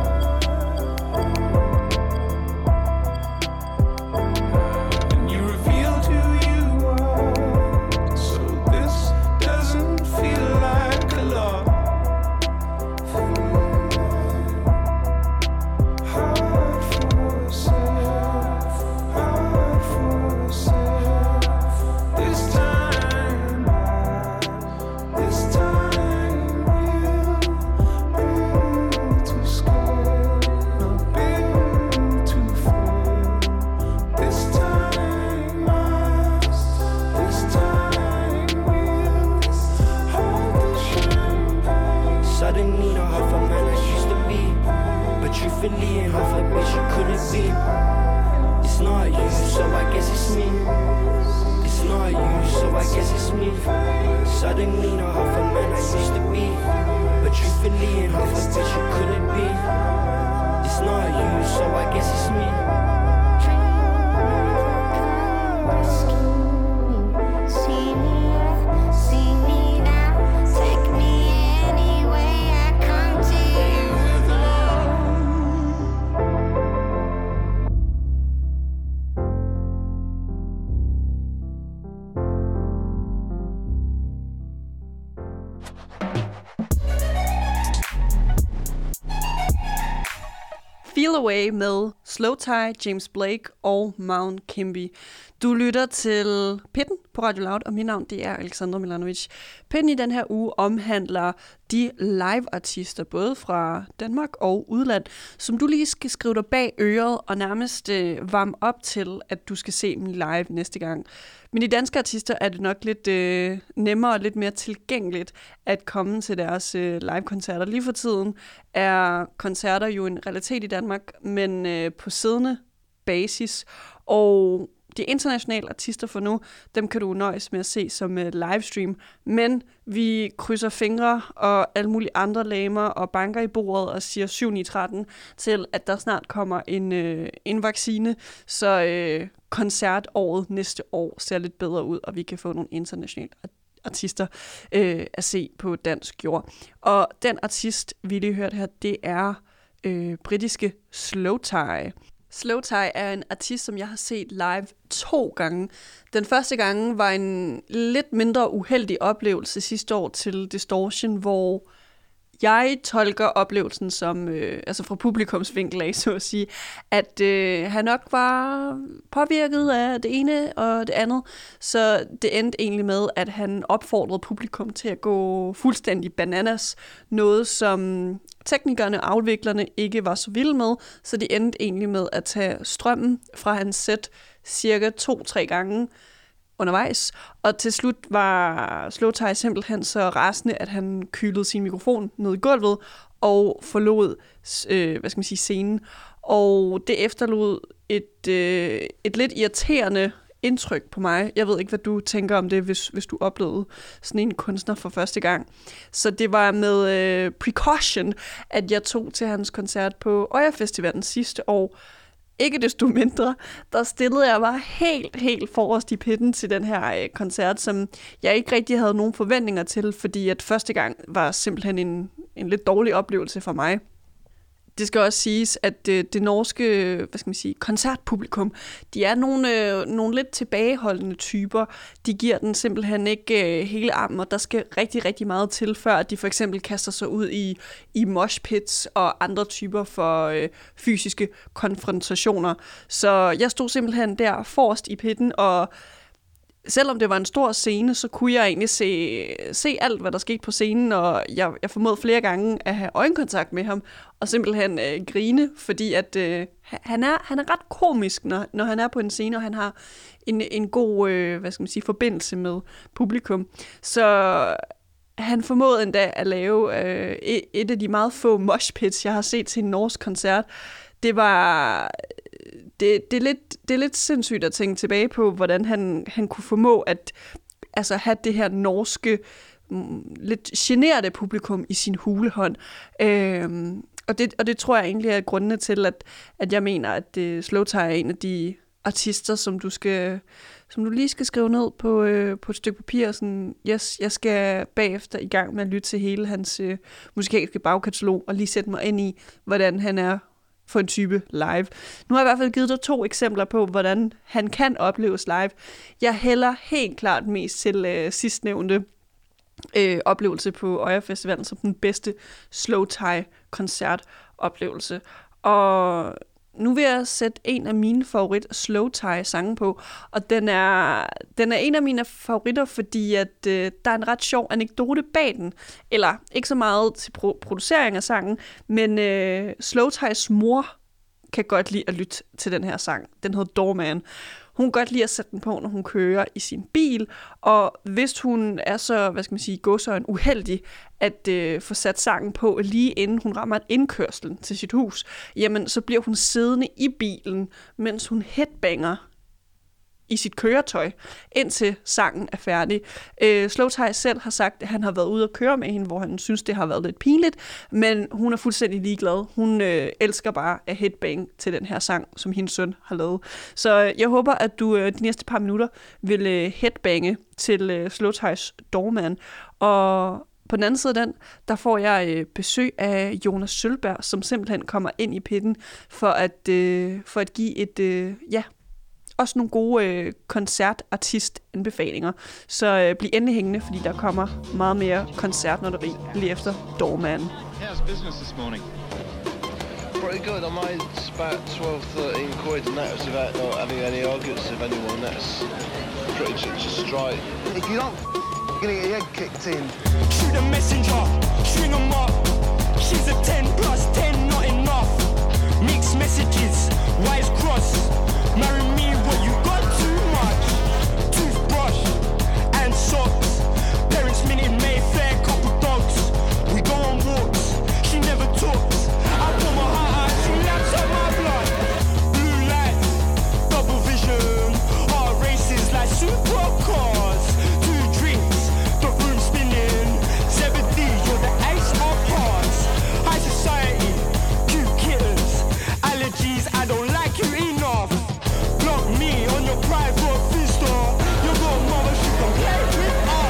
Feel Away med Slowthai, James Blake og Mount Kimby. Du lytter til Pitten på Radio Loud, og mit navn det er Alexandra Milanovic. Pitten i den her uge omhandler de live-artister, både fra Danmark og udland, som du lige skal skrive dig bag øret og nærmest øh, varme op til, at du skal se dem live næste gang. Men de danske artister er det nok lidt øh, nemmere og lidt mere tilgængeligt at komme til deres øh, live-koncerter. Lige for tiden er koncerter jo en realitet i Danmark, men øh, på siddende basis. Og de internationale artister for nu, dem kan du nøjes med at se som uh, livestream. Men vi krydser fingre og alle mulige andre lamer og banker i bordet og siger syv ni tretten til, at der snart kommer en, uh, en vaccine, så uh, koncertåret næste år ser lidt bedre ud, og vi kan få nogle internationale artister uh, at se på dansk jord. Og den artist, vi lige hørte her, det er uh, britiske Slowthai. Slowthai er en artist, som jeg har set live to gange. Den første gang var en lidt mindre uheldig oplevelse sidste år til Distortion, hvor jeg tolker oplevelsen som, øh, altså fra publikumsvinkel af, så at sige, at øh, han nok var påvirket af det ene og det andet, så det endte egentlig med, at han opfordrede publikum til at gå fuldstændig bananas, noget som teknikerne og afviklerne ikke var så vilde med, så de endte egentlig med at tage strømmen fra hans sæt cirka to-tre gange undervejs, og til slut var Slowthai simpelthen så rasende, at han kylede sin mikrofon ned i gulvet og forlod øh, hvad skal man sige, scenen. Og det efterlod et, øh, et lidt irriterende indtryk på mig. Jeg ved ikke, hvad du tænker om det, hvis, hvis du oplevede sådan en kunstner for første gang. Så det var med øh, precaution, at jeg tog til hans koncert på Øya Festivalen sidste år. Ikke desto mindre, der stillede jeg mig helt, helt forrest i pitten til den her øh, koncert, som jeg ikke rigtig havde nogen forventninger til, fordi at første gang var simpelthen en, en lidt dårlig oplevelse for mig. Det skal også siges, at det, det norske, hvad skal man sige, koncertpublikum, de er nogle, øh, nogle lidt tilbageholdende typer. De giver den simpelthen ikke øh, hele armen, og der skal rigtig, rigtig meget til, før at de for eksempel kaster sig ud i, i moshpits og andre typer for øh, fysiske konfrontationer. Så jeg stod simpelthen der forrest i pitten, og selvom det var en stor scene, så kunne jeg egentlig se, se alt, hvad der skete på scenen, og jeg, jeg formåede flere gange at have øjenkontakt med ham, og simpelthen øh, grine, fordi at, øh, han, er, han er ret komisk, når, når han er på en scene, og han har en, en god øh, hvad skal man sige, forbindelse med publikum. Så han formåede endda at lave øh, et, et af de meget få moshpits, jeg har set til en norsk koncert. Det var... Det, det, er lidt, det er lidt sindssygt at tænke tilbage på, hvordan han, han kunne formå at altså, have det her norske, lidt generede publikum i sin hulehånd. Øhm, og, det, og det tror jeg egentlig er grundene til, at, at jeg mener, at uh, Slowthai er en af de artister, som du, skal, som du lige skal skrive ned på, øh, på et stykke papir. Sådan, yes, jeg skal bagefter i gang med at lytte til hele hans øh, musikalske bagkatalog og lige sætte mig ind i, hvordan han er for en type live. Nu har jeg i hvert fald givet dig to eksempler på, hvordan han kan opleves live. Jeg hælder helt klart mest til øh, sidstnævnte øh, oplevelse på Øya Festivalen som den bedste Slowthai-koncertoplevelse. Og nu vil jeg sætte en af mine favorit Slowthai-sange på, og den er, den er en af mine favoritter, fordi at, øh, der er en ret sjov anekdote bag den. Eller ikke så meget til pro- producering af sangen, men øh, Slowthais mor kan godt lide at lytte til den her sang. Den hedder Doorman. Hun kan godt lide at sætte den på, når hun kører i sin bil, og hvis hun er så, hvad skal man sige, gåsøjne uheldig at øh, få sat sangen på lige inden hun rammer indkørslen til sit hus, jamen så bliver hun siddende i bilen, mens hun headbanger i sit køretøj, indtil sangen er færdig. Øh, Slowthai selv har sagt, at han har været ude at køre med hende, hvor han synes, det har været lidt pinligt, men hun er fuldstændig ligeglad. Hun øh, elsker bare at headbang til den her sang, som hendes søn har lavet. Så øh, jeg håber, at du øh, de næste par minutter vil øh, headbange til øh, Slowthais Doorman. Og på den anden side af den, der får jeg øh, besøg af Jonas Sølberg, som simpelthen kommer ind i pitten for at, øh, for at give et, øh, ja, også nogle gode øh, koncertartist-anbefalinger. Så øh, bliv endelig hængende, fordi der kommer meget mere koncertnotteri lige efter Doorman. How's business this morning? Pretty good. I made about twelve, thirteen quid, and that was without not having any arguments with anyone. That's pretty just straight. If you don't, you're gonna get your head kicked in. Shoot a messenger, string 'em up. She's a ten plus ten, not enough. Mixed messages, wires cross. Marry me, but you got too much. Toothbrush and socks. Parents minute Mayfair, couple dogs. We go on walks, she never talks. I pull my heart out, she laps up my blood. Blue lights, double vision. Heart races like supercars. Two drinks, the room spinning. Zebedee, you're the ace of hearts. High society, cute kittens. Allergies, I don't like you enough. Me on your private vista. Your little mother, she can play with us.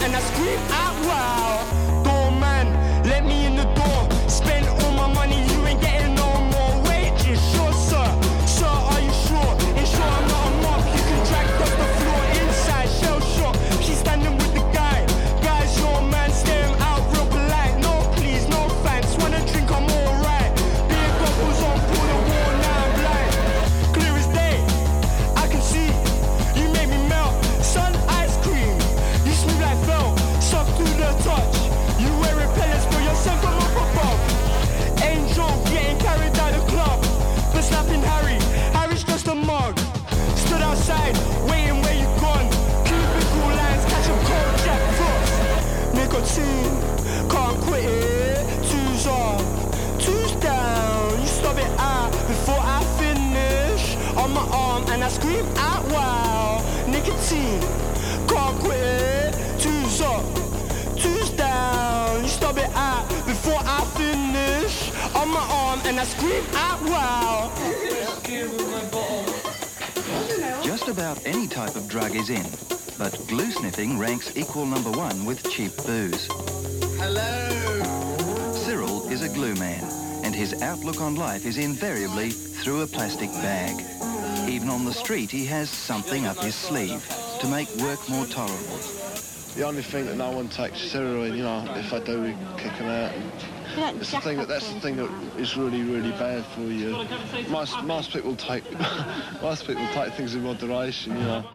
and I scream out wow. Doorman, let me in the door. Spend all my money, you ain't getting no more wages. Sure, sir. Sir, are you sure? Ensure I'm not a mob. You can drag across the floor inside. Shell shock. She's standing with the guy. Guys, your man, stare him out real polite. No, please, no thanks. Wanna drink, I'm alright. Beer goggles on, pull the wall, now I'm blind. Clear as day, I can see. You make me melt. Sun ice cream. You smooth like felt. Soft through the touch. You wear repellents for yourself from up above. Angel getting carried out the club. But snapping Harry. Harry's just a mug. Stood outside, waiting where you gone. Cubicle lines, catch a cold Jack Frost. Nicotine, can't quit it. Two's up, two's down. You stop it out before I finish. On my arm and I scream out wow. Nicotine, can't quit it. Two's up, two's down. You stop it out before I finish. On my arm and I scream out wow. Just about any type of drug is in, but glue sniffing ranks equal number one with cheap booze. Hello. Cyril is a glue man, and his outlook on life is invariably through a plastic bag. Even on the street, he has something up his sleeve to make work more tolerable. The only thing that no one takes steroid, you know, if I do, we kick them out. It's the thing that that's the thing that is really, really bad for you. Most most people take most people take things in moderation, you know.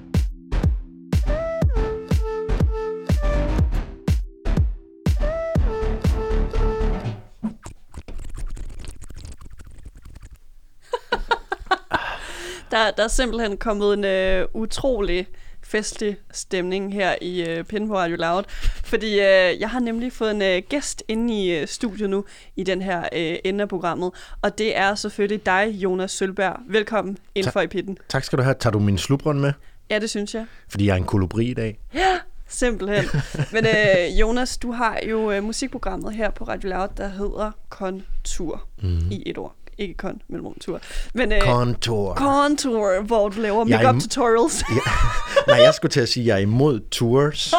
Der, der er simpelthen kommet en øh, utrolig festlig stemning her i øh, Pinde på Radio Loud, fordi øh, jeg har nemlig fået en øh, gæst inde i øh, studiet nu i den her øh, ende af programmet, og det er selvfølgelig dig, Jonas Sølberg. Velkommen indenfor Ta- i Pitten. Tak skal du have. Tager du min slubron med? Ja, det synes jeg. Fordi jeg er en kolibri i dag. Ja, simpelthen. Men øh, Jonas, du har jo øh, musikprogrammet her på Radio Loud, der hedder Kontur mm. i et ord. Ikke kon, men tur. Men, øh, Kontur. Kontur, hvor du laver make-up im- tutorials. ja. Nej, jeg skulle til at sige, at jeg er imod tours.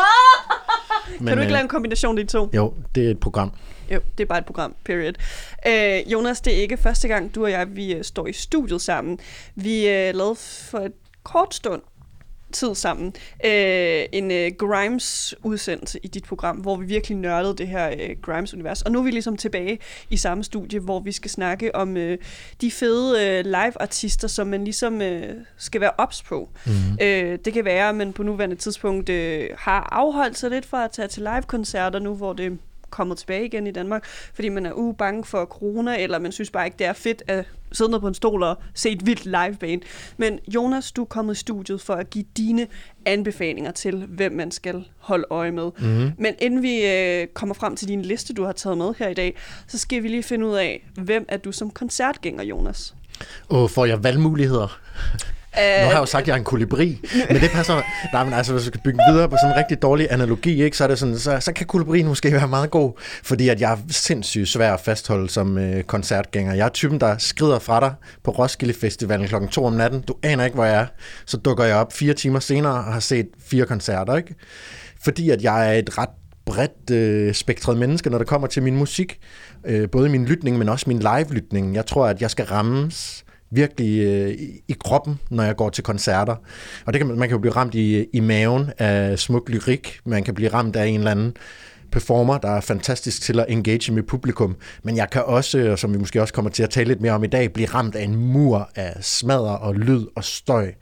Men, kan du ikke øh, lave en kombination af de to? Jo, det er et program. Jo, det er bare et program, period. Øh, Jonas, det er ikke første gang, du og jeg vi uh, står i studiet sammen. Vi uh, lavede for et kort stund tid sammen øh, en øh, Grimes-udsendelse i dit program, hvor vi virkelig nørdede det her øh, Grimes-univers. Og nu er vi ligesom tilbage i samme studie, hvor vi skal snakke om øh, de fede øh, live-artister, som man ligesom øh, skal være ops på. Mm-hmm. Øh, det kan være, at man på nuværende tidspunkt øh, har afholdt sig lidt fra at tage til live-koncerter nu, hvor det kommet tilbage igen i Danmark, fordi man er uh, bange for corona, eller man synes bare ikke, det er fedt at sidde ned på en stol og se et vildt liveband. Men Jonas, du er kommet i studiet for at give dine anbefalinger til, hvem man skal holde øje med. Mm-hmm. Men inden vi øh, kommer frem til din liste, du har taget med her i dag, så skal vi lige finde ud af, hvem er du som koncertgænger, Jonas? Og får jeg valgmuligheder? Nu har jeg jo sagt, at jeg er en kolibri, men det passer. Nej, men altså, hvis vi skal bygge videre på sådan en rigtig dårlig analogi, ikke, så, er det sådan, så, så kan kolibrien måske være meget god, fordi at jeg er sindssygt svær at fastholde som øh, koncertgænger. Jeg er typen, der skrider fra dig på Roskilde Festivalen klokken to om natten. Du aner ikke, hvor jeg er. Så dukker jeg op fire timer senere og har set fire koncerter, ikke? Fordi at jeg er et ret bredt øh, spektret menneske, når det kommer til min musik. Øh, både min lytning, men også min live-lytning. Jeg tror, at jeg skal rammes virkelig øh, i kroppen, når jeg går til koncerter. Og det kan man, man kan jo blive ramt i, i maven af smuk lyrik. Man kan blive ramt af en eller anden performer, der er fantastisk til at engage med publikum. Men jeg kan også, og som vi måske også kommer til at tale lidt mere om i dag, blive ramt af en mur af smadder og lyd og støj.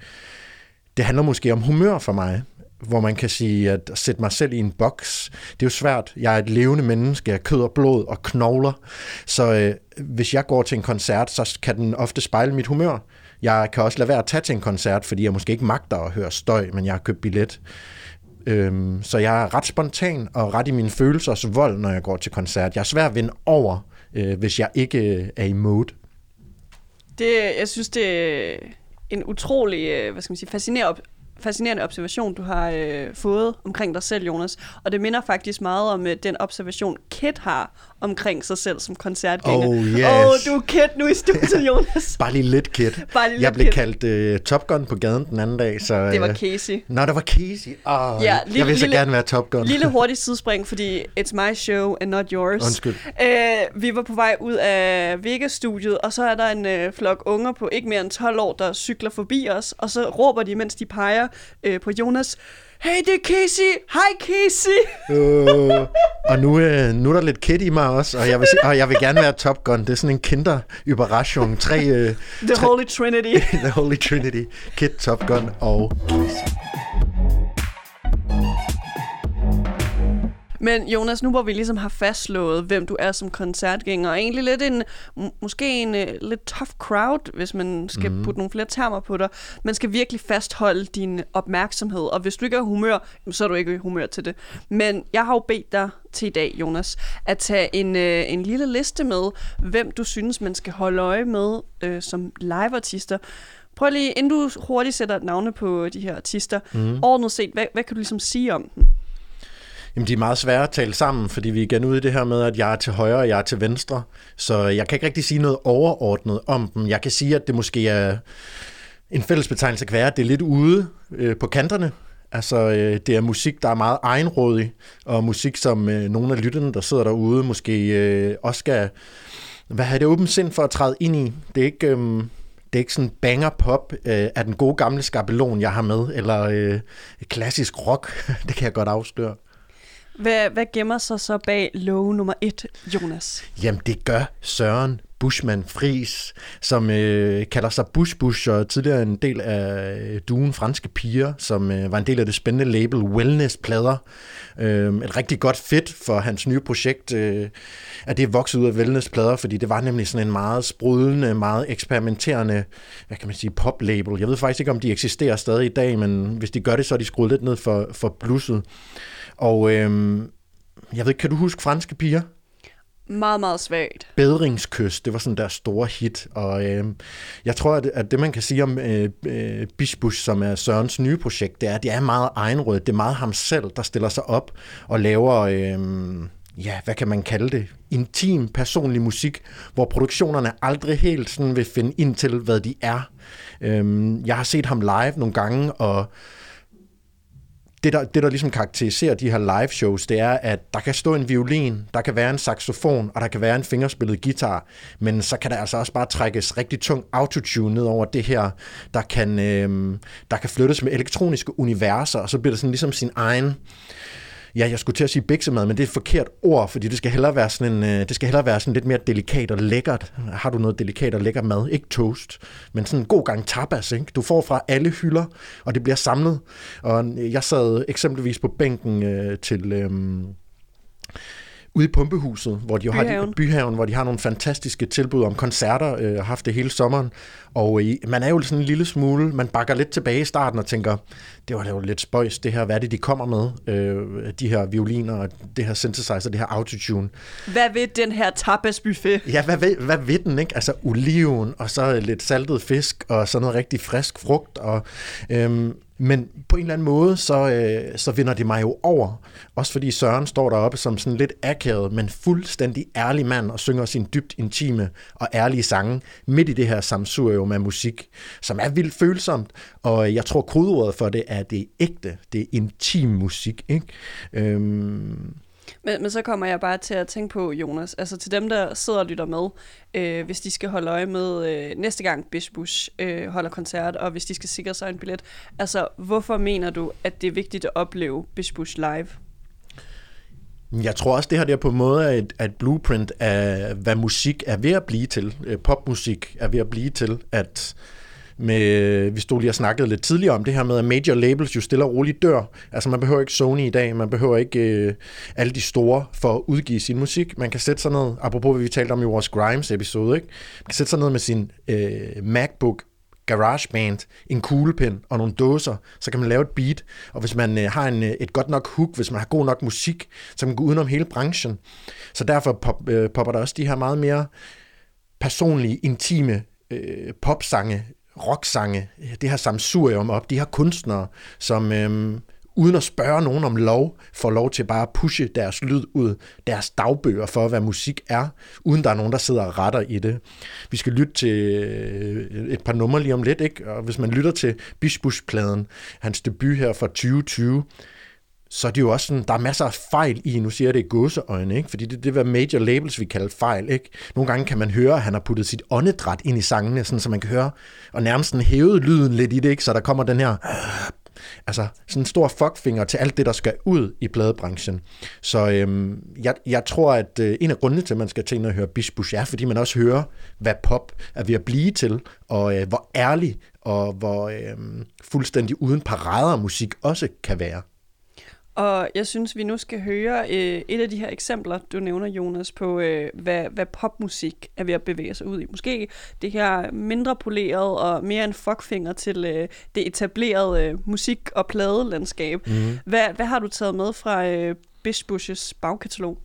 Det handler måske om humør for mig, hvor man kan sige, at sætte mig selv i en boks, det er jo svært. Jeg er et levende menneske, jeg er kød og blod og knogler, så øh, hvis jeg går til en koncert, så kan den ofte spejle mit humør. Jeg kan også lade være at tage til en koncert, fordi jeg måske ikke magter at høre støj, men jeg har købt billet. Øhm, så jeg er ret spontan og ret i mine følelsers vold, når jeg går til koncert. Jeg er svær at vinde over, øh, hvis jeg ikke er i mode. Det, jeg synes, det er en utrolig, hvad skal man sige, fascinerende fascinerende observation, du har øh, fået omkring dig selv, Jonas. Og det minder faktisk meget om øh, den observation, Kid har omkring sig selv som koncertgænger. Oh, yes. Åh, du er Kid nu i studiet, Jonas. Bare lige lidt Kid. Bare lige jeg lidt blev Kid. kaldt øh, Top Gun på gaden den anden dag. Så, Det var øh, Casey. Nå, det var Casey. Oh, Ja, jeg vil så lille, gerne være Top Gun. Lille hurtigt sidespring, fordi it's my show and not yours. Undskyld. Øh, vi var på vej ud af Vegas-studiet, og så er der en øh, flok unger på ikke mere end tolv år, der cykler forbi os, og så råber de, mens de peger øh, på Jonas, hey, det er Casey! Hej, Casey! øh, og nu, øh, nu er der lidt Kid i mig også, og jeg vil, og jeg vil gerne være Top Gun. Det er sådan en Kinder-Überraschung. Tre, øh, The tre, Holy Trinity. The Holy Trinity. Kid, Top Gun og Casey. Men Jonas, nu hvor vi ligesom har fastslået, hvem du er som koncertgænger, og egentlig lidt en, måske en uh, lidt tough crowd, hvis man skal mm. putte nogle flere termer på dig. Man skal virkelig fastholde din opmærksomhed, og hvis du ikke er i humør, så er du ikke i humør til det. Men jeg har jo bedt dig til i dag, Jonas, at tage en, uh, en lille liste med, hvem du synes, man skal holde øje med uh, som liveartister. Prøv lige, inden du hurtigt sætter et navne på de her artister, mm. ordnet set, hvad, hvad kan du ligesom sige om dem? Jamen, de er meget svære at tale sammen, fordi vi er igen ude i det her med, at jeg er til højre, og jeg er til venstre. Så jeg kan ikke rigtig sige noget overordnet om dem. Jeg kan sige, at det måske er en fællesbetegnelse kan være, at det er lidt ude øh, på kanterne. Altså, øh, det er musik, der er meget egenrådig, og musik, som øh, nogle af lytterne, der sidder derude, måske øh, også skal hvad have det åbent sind for at træde ind i. Det er ikke... Øh, Det er ikke sådan banger pop øh, af den gode gamle skabelon, jeg har med, eller øh, klassisk rock. Det kan jeg godt afsløre. Hvad, hvad gemmer sig så bag låge nummer et, Jonas? Jamen, det gør Søren Buschmann Friis, som øh, kalder sig Bush Bush, og tidligere en del af duen Franske Piger, som øh, var en del af det spændende label Wellness-plader. Øh, et rigtig godt fit for hans nye projekt, øh, at det er vokset ud af Wellness-plader, fordi det var nemlig sådan en meget sprudlende, meget eksperimenterende, hvad kan man sige, pop-label. Jeg ved faktisk ikke, om de eksisterer stadig i dag, men hvis de gør det, så er de skruet lidt ned for, for blusset. Og øh, jeg ved, kan du huske Franske Piger? Meget, meget svagt. Bedringskys, det var sådan der store hit, og øh, jeg tror, at, at det man kan sige om øh, øh, Bish Bush, som er Sørens nye projekt, det er, at det er meget egenrådet. Det er meget ham selv, der stiller sig op og laver, øh, ja, hvad kan man kalde det? Intim, personlig musik, hvor produktionerne aldrig helt sådan vil finde ind til, hvad de er. Øh, jeg har set ham live nogle gange, og Det der, det, der ligesom karakteriserer de her live shows, det er, at der kan stå en violin, der kan være en saxofon, og der kan være en fingerspillet guitar, men så kan der altså også bare trækkes rigtig tung autotune ned over det her, der kan, øh, der kan flyttes med elektroniske universer, og så bliver det sådan ligesom sin egen, ja, jeg skulle til at sige biksemad, men det er et forkert ord, fordi det skal hellere være sådan en, det skal hellere være sådan lidt mere delikat og lækkert. Har du noget delikat og lækker mad? Ikke toast, men sådan en god gang tapas, ikke? Du får fra alle hylder, og det bliver samlet. Og jeg sad eksempelvis på bænken øh, til... Øh, ude i Pumpehuset, hvor de Byhaven. har de, Byhaven, hvor de har nogle fantastiske tilbud om koncerter, øh, har haft det hele sommeren, og øh, man er jo sådan en lille smule, man bakker lidt tilbage i starten og tænker, det var jo lidt spøjs, det her, hvad er det, de kommer med, øh, de her violiner, og det her synthesizer, det her autotune. Hvad ved den her tapasbuffet? Ja, hvad ved, hvad ved den, ikke? Altså oliven, og så lidt saltet fisk, og så noget rigtig frisk frugt, og... Øh, Men på en eller anden måde, så, øh, så vinder det mig jo over. Også fordi Søren står deroppe som sådan lidt akavet, men fuldstændig ærlig mand og synger sin dybt intime og ærlige sange midt i det her sammensurium af musik, som er vildt følsomt. Og jeg tror, kodeordet for det er det ægte, det er intim musik, ikke? Øhm Men, men så kommer jeg bare til at tænke på, Jonas, altså til dem, der sidder og lytter med, øh, hvis de skal holde øje med øh, næste gang Bish Bush øh, holder koncert, og hvis de skal sikre sig en billet, altså hvorfor mener du, at det er vigtigt at opleve Bish Bush live? Jeg tror også, det her det er på en måde er et, et blueprint af, hvad musik er ved at blive til. Popmusik er ved at blive til, at med, vi stod lige og snakkede lidt tidligere om det her med, at major labels jo stille og roligt dør. Altså man behøver ikke Sony i dag, man behøver ikke øh, alle de store for at udgive sin musik. Man kan sætte sig ned, apropos hvad vi talte om i vores Grimes-episode, ikke? Man kan sætte sig ned med sin øh, MacBook, GarageBand, en kuglepen og nogle dåser, så kan man lave et beat, og hvis man øh, har en, et godt nok hook, hvis man har god nok musik, så kan man gå udenom hele branchen. Så derfor pop, øh, popper der også de her meget mere personlige, intime øh, popsange rocksange, det her sammensurium op, de her kunstnere, som øhm, uden at spørge nogen om lov, får lov til bare at pushe deres lyd ud, deres dagbøger for, hvad musik er, uden der er nogen, der sidder og retter i det. Vi skal lytte til et par numre lige om lidt, ikke? Og hvis man lytter til Bish Bush-pladen, hans debut her fra tyve tyve, så er det jo også sådan, der er masser af fejl i, nu siger jeg det i gåseøjne, ikke? Fordi det, det er, hvad major labels vi kalder fejl, ikke? Nogle gange kan man høre, at han har puttet sit åndedræt ind i sangene, sådan, så man kan høre, og nærmest sådan hævet lyden lidt i det, ikke? Så der kommer den her, altså sådan en stor fuckfinger til alt det, der skal ud i pladebranchen. Så øhm, jeg, jeg tror, at øh, en af grundene til, at man skal til at høre Bish Bush, er, fordi man også hører, hvad pop er ved at blive til, og øh, hvor ærlig og hvor øh, fuldstændig uden parader musik også kan være. Og jeg synes, vi nu skal høre øh, et af de her eksempler, du nævner, Jonas, på øh, hvad, hvad popmusik er ved at bevæge sig ud i. Måske det her mindre poleret og mere en fuckfinger til øh, det etablerede øh, musik- og pladelandskab. Mm. Hvad, hvad har du taget med fra øh, Bish Bush's bagkatalog?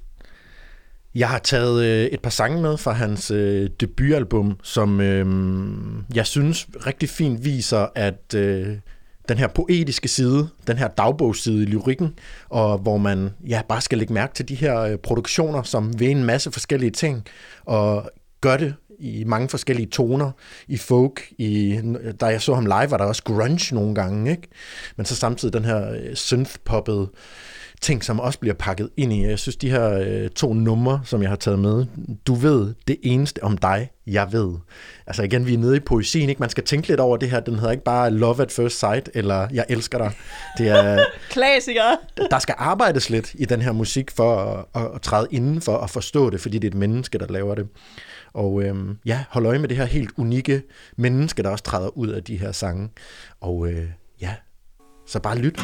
Jeg har taget øh, et par sange med fra hans øh, debutalbum, som øh, jeg synes rigtig fint viser, at øh, den her poetiske side, den her dagbogsside i lyrikken, og hvor man ja, bare skal lægge mærke til de her øh, produktioner, som ved en masse forskellige ting, og gør det i mange forskellige toner, i folk, i, da jeg så ham live, var der også grunge nogle gange, ikke? Men så samtidig den her øh, synth-poppede ting, som også bliver pakket ind i. Jeg synes, de her øh, to numre, som jeg har taget med, du ved det eneste om dig, jeg ved. Altså igen, vi er nede i poesien, ikke? Man skal tænke lidt over det her. Den hedder ikke bare Love at First Sight, eller Jeg elsker dig. Det er klassikere. Der skal arbejdes lidt i den her musik for at, at, at træde indenfor og forstå det, fordi det er et menneske, der laver det. Og øhm, ja, hold øje med det her helt unikke menneske, der også træder ud af de her sange. Og øh, ja, så bare lyt.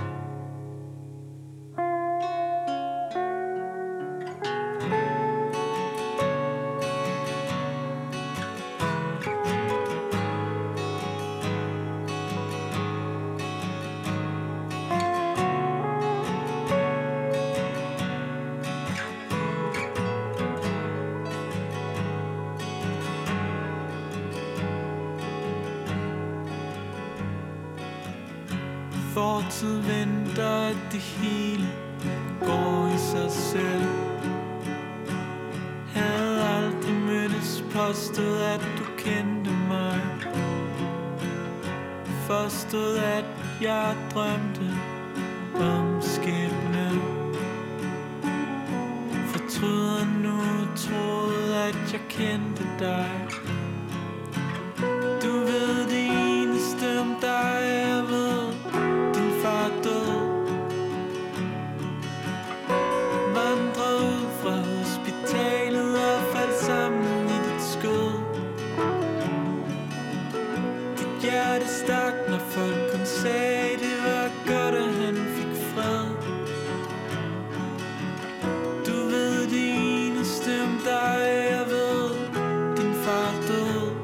Fortid venter, at det hele går i sig selv. Havde aldrig mødtes, påstod at du kendte mig. Forstod at jeg drømte om skæbnen. Fortryder nu, troede at jeg kendte dig. Du ved det eneste om dig, jeg ved. Stak, når folk kun sagde, det var godt, at han fik fred. Du ved det eneste om dig, jeg ved, din far død.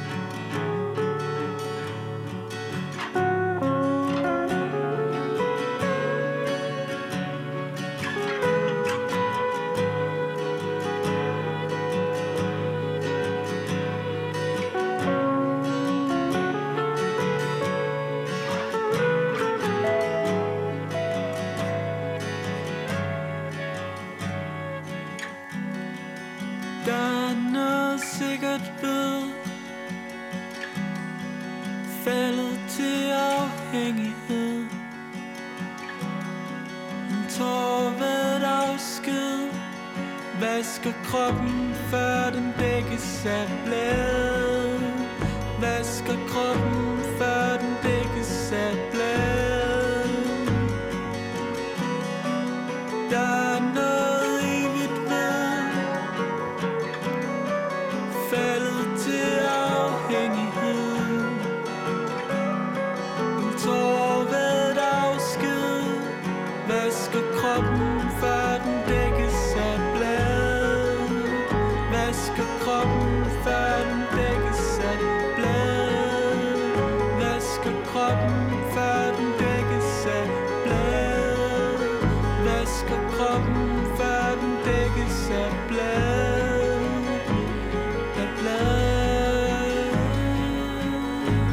Faldet til afhængighed. En tårvæd afsked vasker kroppen, før den dækkes af blade. Vasker kroppen, før den dækkes af blade. Der er noget evigt ved. Faldet til afhængighed. Tårvæd afsked vasker kroppen, før den dækkes af blade. Vasker kroppen, før den dækkes af blade. Vasker kroppen, før den dækkes af blade. Vasker kroppen, før den dækkes af blade. Af blade.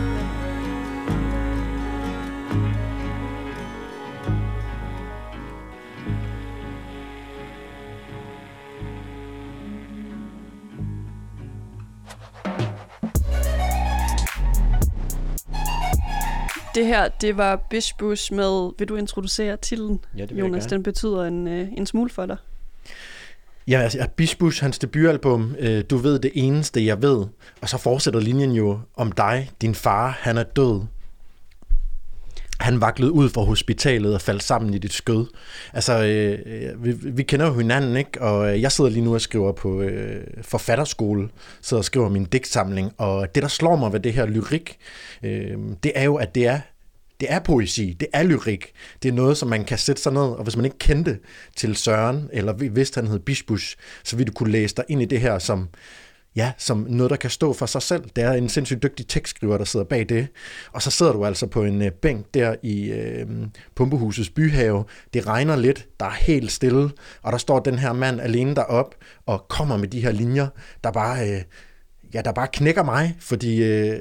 Det her, det var Bish Bush med, vil du introducere titlen, ja, Jonas? Den betyder en, øh, en smule for dig. Ja, altså Bish Bush, hans debutalbum, øh, Du ved det eneste, jeg ved. Og så fortsætter linjen jo om dig, din far, han er død. Han vaklede ud fra hospitalet og faldt sammen i dit skød. Altså, øh, vi, vi kender jo hinanden, ikke? Og jeg sidder lige nu og skriver på øh, forfatterskole, sidder og skriver min digtsamling, og det, der slår mig ved det her lyrik, øh, det er jo, at det er Det er poesi, det er lyrik. Det er noget, som man kan sætte sig ned, og hvis man ikke kendte til Søren, eller vidste, han hed Bish Bush, så ville du kunne læse dig ind i det her som, ja, som noget, der kan stå for sig selv. Det er en sindssygt dygtig tekstskriver, der sidder bag det. Og så sidder du altså på en uh, bænk der i øh, Pumpehusets byhave. Det regner lidt, der er helt stille, og der står den her mand alene derop og kommer med de her linjer, der bare, øh, ja, der bare knækker mig, fordi øh,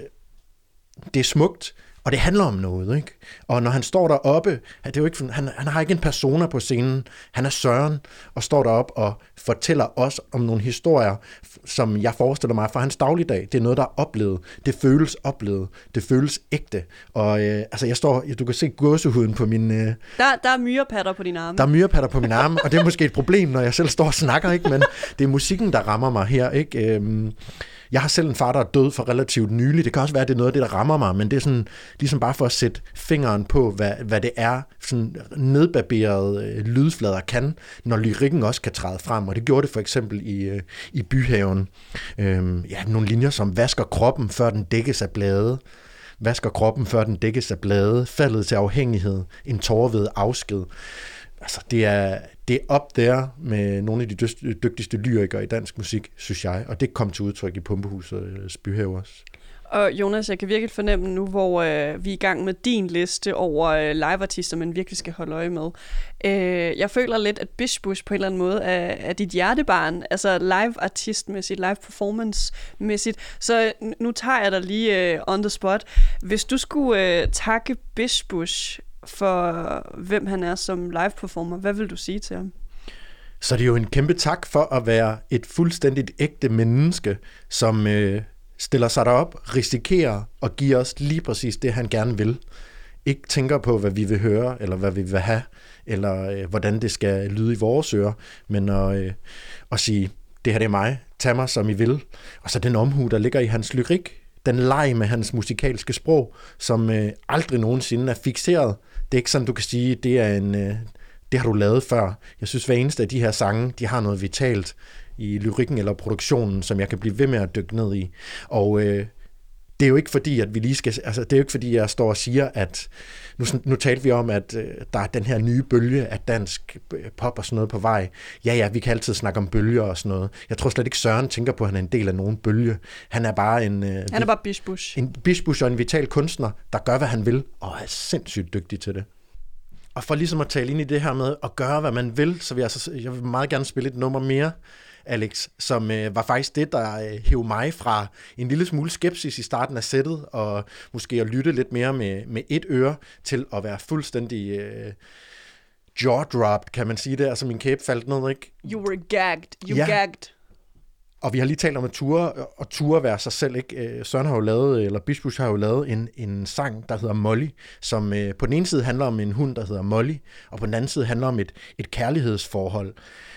det er smukt. Og det handler om noget, ikke? Og når han står deroppe, det er jo ikke, han, han har ikke en persona på scenen, han er Søren, og står deroppe og fortæller os om nogle historier, som jeg forestiller mig fra hans dagligdag. Det er noget, der er oplevet. Det føles oplevet. Det føles ægte. Og øh, altså, jeg står, du kan se gåsehuden på min... Øh, der, der er myrepatter på dine arme. Der er myrepatter på mine arme, og det er måske et problem, når jeg selv står og snakker, ikke? Men det er musikken, der rammer mig her, ikke? Øhm, Jeg har selv en far, der er død for relativt nylig. Det kan også være, at det er noget af det, der rammer mig, men det er sådan, ligesom bare for at sætte fingeren på, hvad, hvad det er, sådan nedbarberede øh, lydflader kan, når lyrikken også kan træde frem. Og det gjorde det for eksempel i, øh, i Byhaven. Øhm, ja, nogle linjer som vasker kroppen, før den dækkes af blade. Vasker kroppen, før den dækkes af blade. Faldet til afhængighed. En tårer ved afsked. Altså, det er, det er op der med nogle af de dygtigste lyrikere i dansk musik, synes jeg, og det kom til udtryk i Pumpehusets byhave også. Og Jonas, jeg kan virkelig fornemme nu, hvor øh, vi er i gang med din liste over øh, liveartister, man virkelig skal holde øje med. Øh, jeg føler lidt, at Bish Bush på en eller anden måde er, er dit hjertebarn, altså liveartistmæssigt, live performance-mæssigt. Så nu tager jeg dig lige øh, on the spot. Hvis du skulle øh, takke Bish Bush for hvem han er som live-performer, hvad vil du sige til ham? Så det er jo en kæmpe tak for at være et fuldstændigt ægte menneske, som øh, stiller sig derop, risikerer og giver os lige præcis det, han gerne vil. Ikke tænker på, hvad vi vil høre, eller hvad vi vil have, eller øh, hvordan det skal lyde i vores ører, men at, øh, at sige, det her det er mig, tag mig som I vil. Og så den omhu, der ligger i hans lyrik, den leg med hans musikalske sprog, som øh, aldrig nogensinde er fikseret. Det er ikke sådan, du kan sige, det er en, øh, det har du lavet før. Jeg synes, hver eneste af de her sange, de har noget vitalt i lyrikken eller produktionen, som jeg kan blive ved med at dykke ned i. Og øh, det er jo ikke fordi, at vi lige skal, altså det er jo ikke fordi, jeg står og siger, at nu, nu talte vi om, at øh, der er den her nye bølge af dansk pop og sådan noget på vej. Ja, ja, vi kan altid snakke om bølger og sådan noget. Jeg tror slet ikke, Søren tænker på, at han er en del af nogen bølge. Han er bare en... Øh, han er bare Bish Bush. En Bish Bush og en vital kunstner, der gør, hvad han vil, og er sindssygt dygtig til det. Og for ligesom at tale ind i det her med at gøre, hvad man vil, så vil jeg, altså, jeg vil meget gerne spille et nummer mere, Alex, som øh, var faktisk det, der øh, hævde mig fra en lille smule skepsis i starten af sættet, og måske at lytte lidt mere med, med et øre, til at være fuldstændig øh, jaw-dropped, kan man sige det. Altså min kæbe faldt ned, ikke? You were gagged. You ja. gagged. Og vi har lige talt om at ture, og ture være sig selv, ikke? Søren har jo lavet, eller Bish Bush har jo lavet en, en sang, der hedder Molly, som øh, på den ene side handler om en hund, der hedder Molly, og på den anden side handler om et, et kærlighedsforhold.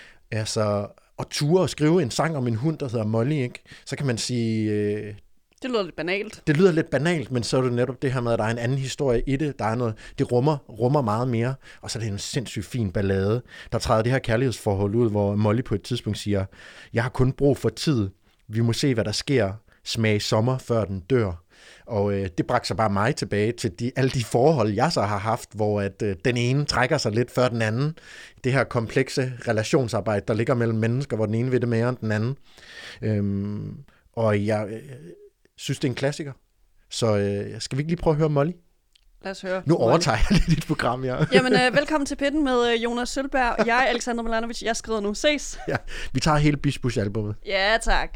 Altså, at ture og skrive en sang om en hund, der hedder Molly, ikke? Så kan man sige... Øh, det lyder lidt banalt. Det lyder lidt banalt, men så er det netop det her med, at der er en anden historie i det. Der er noget, det rummer, rummer meget mere, og så er det en sindssygt fin ballade. Der træder det her kærlighedsforhold ud, hvor Molly på et tidspunkt siger, jeg har kun brug for tid. Vi må se, hvad der sker. Smag sommer, før den dør. Og øh, det bragte sig bare mig tilbage til de, alle de forhold, jeg så har haft, hvor at, øh, den ene trækker sig lidt før den anden. Det her komplekse relationsarbejde, der ligger mellem mennesker, hvor den ene vil det mere end den anden. Øhm, og jeg øh, synes, det er en klassiker. Så øh, skal vi ikke lige prøve at høre Molly? Lad os høre. Nu overtager jeg lidt dit program, ja. Jamen, øh, velkommen til Pitten med øh, Jonas Sølberg, og jeg, Alexandra Milanovic. Jeg skriver nu. Ses. Ja, vi tager hele Bish Bush-albummet. Ja, tak.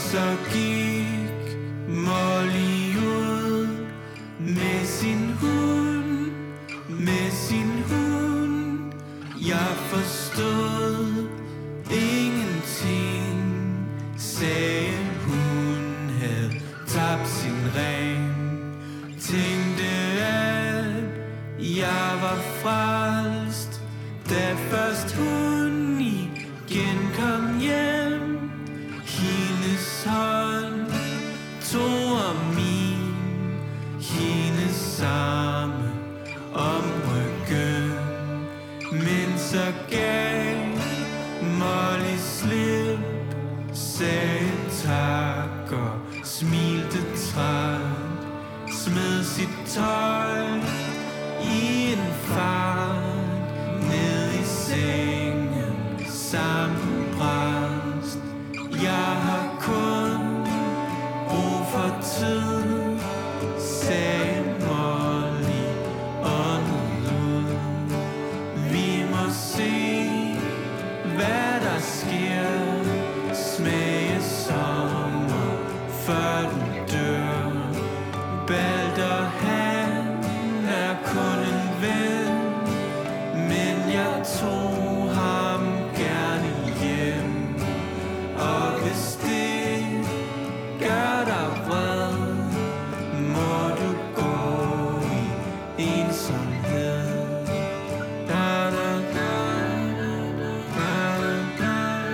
så gik Molly ud med sin hund, med sin hund. Jeg forstod ingenting, sagde hun havde tabt sin ring. Tænkte at jeg var frelst, da først hun igen kom hjem. Hendes hånd tog om min, hendes samme om ryggen. Men så gav Molly slip, sagde tak og smilte træt, smed sit tøj i en fart ned i sengen sammenbrast. Jeg har kun brug for tid, sagde Molly åndede ud. Vi må se, hvad der sker, smage sommer, før den dør. Balder, han er kun en ven, men jeg tog ham gerne hjem. Og hvis det gør dig vred, må du gå i ensomhed. Da, da, da, da, da,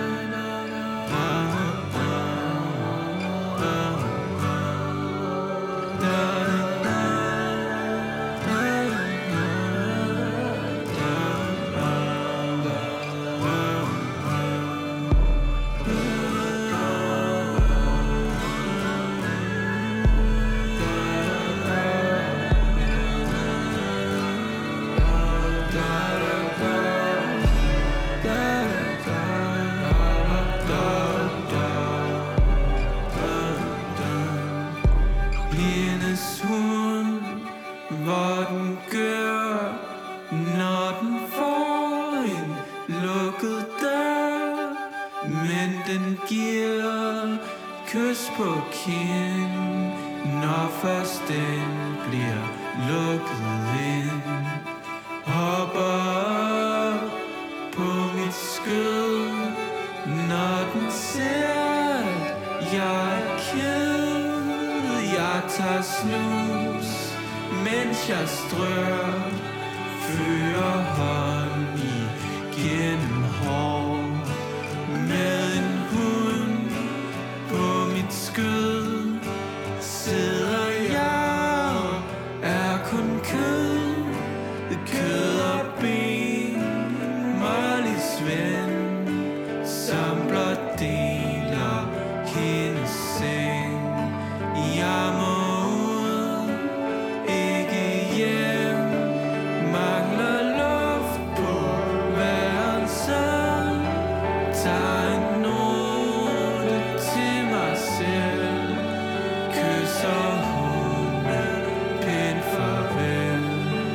Blindes hund, hvor den gør, når den får en lukket dør. Men den giver kys på kind, når først den bliver lukket ind. Hopper op på mit skød, når den ser, at jeg er ked. Jeg tager snus, mens jeg strør, fører hånd igennem hår. Med en hund på mit skød, sidder jeg og er kun kød, kød og ben, Mollys ven, som blot deler hendes seng. Jeg må ud, ikke hjem, mangler luft på værelset. Tager en note til mig selv, kysser hunden pænt farvel.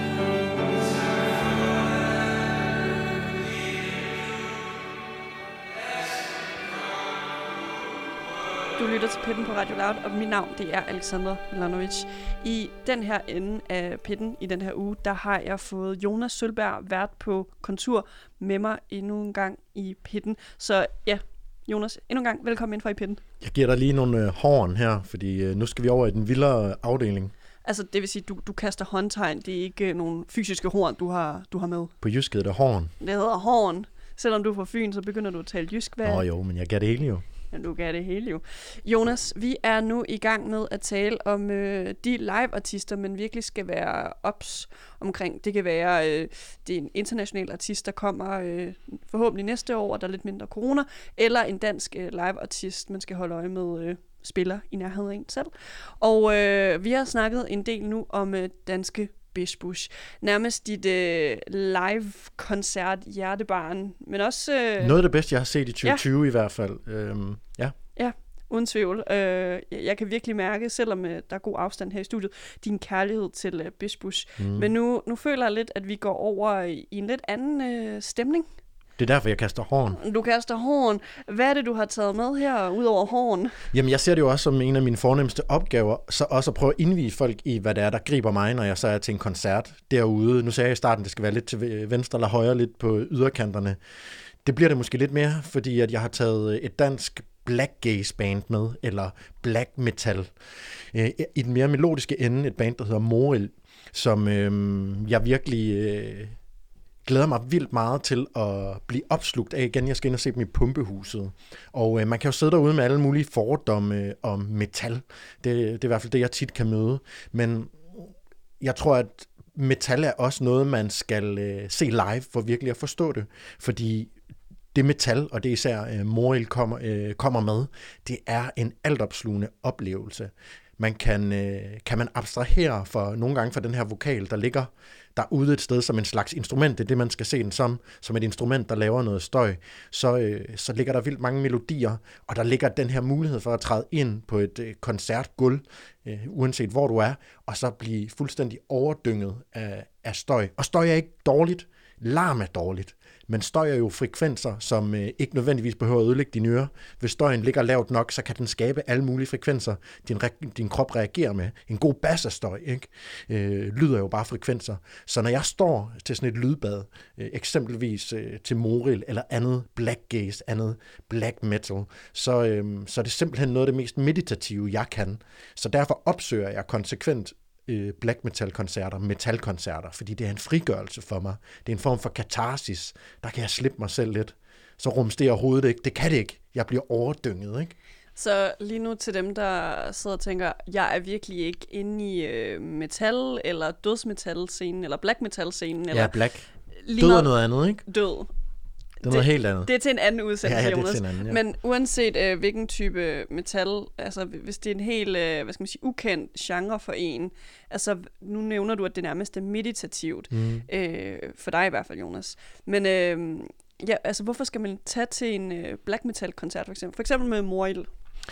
Du lytter til Pitten på Radio Loud, og mit navn det er Alexandra Milanovic. I den her ende af Pitten i den her uge, der har jeg fået Jonas Sølberg vært på kontur med mig endnu en gang i Pitten. Så ja, Jonas, endnu en gang velkommen ind for i Pitten. Jeg giver dig lige nogle øh, horn her, fordi øh, nu skal vi over i den vildere afdeling. Altså, det vil sige, du, du kaster håndtegn. Det er ikke øh, nogle fysiske horn, du har, du har med. På jysk hedder det horn. Det hedder horn. Selvom du er fra Fyn, så begynder du at tale jysk. Hvad? Nå jo, men jeg gav det hele jo. Ja, du gav det hele jo. Jonas, vi er nu i gang med at tale om øh, de live-artister, man virkelig skal være ops omkring. Det kan være, øh, det er en international artist, der kommer øh, forhåbentlig næste år, og der er lidt mindre corona, eller en dansk øh, live-artist, man skal holde øje med, øh, spiller i nærheden af en selv. Og øh, vi har snakket en del nu om øh, danske Bish Bush. Nærmest dit øh, live-koncert hjertebarn, men også... Øh, Noget af det bedste, jeg har set i tyve tyve ja. i hvert fald. Øhm, ja. Ja, uden tvivl. Øh, jeg kan virkelig mærke, selvom øh, der er god afstand her i studiet, din kærlighed til øh, Bish Bush. Mm. Men nu, nu føler jeg lidt, at vi går over i, i en lidt anden øh, stemning. Det er derfor, jeg kaster horn. Du kaster horn. Hvad er det, du har taget med her, ud over horn? Jamen, jeg ser det jo også som en af mine fornemmeste opgaver, så også at prøve at indvige folk i, hvad det er, der griber mig, når jeg så er til en koncert derude. Nu sagde jeg i starten, det skal være lidt til venstre eller højre, lidt på yderkanterne. Det bliver det måske lidt mere, fordi at jeg har taget et dansk black gaze band med, eller black metal. I den mere melodiske ende, et band, der hedder Moril, som øh, jeg virkelig øh, glæder mig vildt meget til at blive opslugt af igen. Jeg skal ind og se dem i Pumpehuset. Og øh, man kan jo sidde derude med alle mulige fordomme om metal. Det, det er i hvert fald det, jeg tit kan møde. Men jeg tror, at metal er også noget, man skal øh, se live for virkelig at forstå det. Fordi det metal, og det er især øh, Moril kommer, øh, kommer med, det er en altopslugende oplevelse. Man kan, øh, kan man abstrahere for nogle gange fra den her vokal, der ligger derude et sted som en slags instrument, det er det, man skal se den som, som et instrument, der laver noget støj, så, øh, så ligger der vildt mange melodier, og der ligger den her mulighed for at træde ind på et øh, koncertgulv, øh, uanset hvor du er, og så blive fuldstændig overdynget af, af støj. Og støj er ikke dårligt, larm er dårligt. Men støj er jo frekvenser, som øh, ikke nødvendigvis behøver at ødelægge dine ører. Hvis støjen ligger lavt nok, så kan den skabe alle mulige frekvenser, din, re- din krop reagerer med. En god bass af støj, ikke? Øh, lyder jo bare frekvenser. Så når jeg står til sådan et lydbad, øh, eksempelvis øh, til Moril eller andet black gaze, andet black metal, så, øh, så er det simpelthen noget af det mest meditative, jeg kan. Så derfor opsøger jeg konsekvent black metal-koncerter, metal-koncerter, fordi det er en frigørelse for mig. Det er en form for katarsis. Der kan jeg slippe mig selv lidt. Så rumsterer hovedet ikke. Det kan det ikke. Jeg bliver overdynget, ikke? Så lige nu til dem, der sidder og tænker, jeg er virkelig ikke inde i øh, metal, eller dødsmetal-scenen, eller black metal-scenen. Eller ja, black. Død er noget andet, ikke? Død. Det er noget helt andet. Det er til en anden udsendelse, ja, ja, Jonas. det er til en anden, ja. Men uanset øh, hvilken type metal, altså hvis det er en helt, øh, hvad skal man sige, ukendt genre for en, altså nu nævner du, at det nærmest er meditativt, mm. øh, for dig i hvert fald, Jonas. Men øh, ja, altså hvorfor skal man tage til en øh, black metal koncert for eksempel? For eksempel med Moril.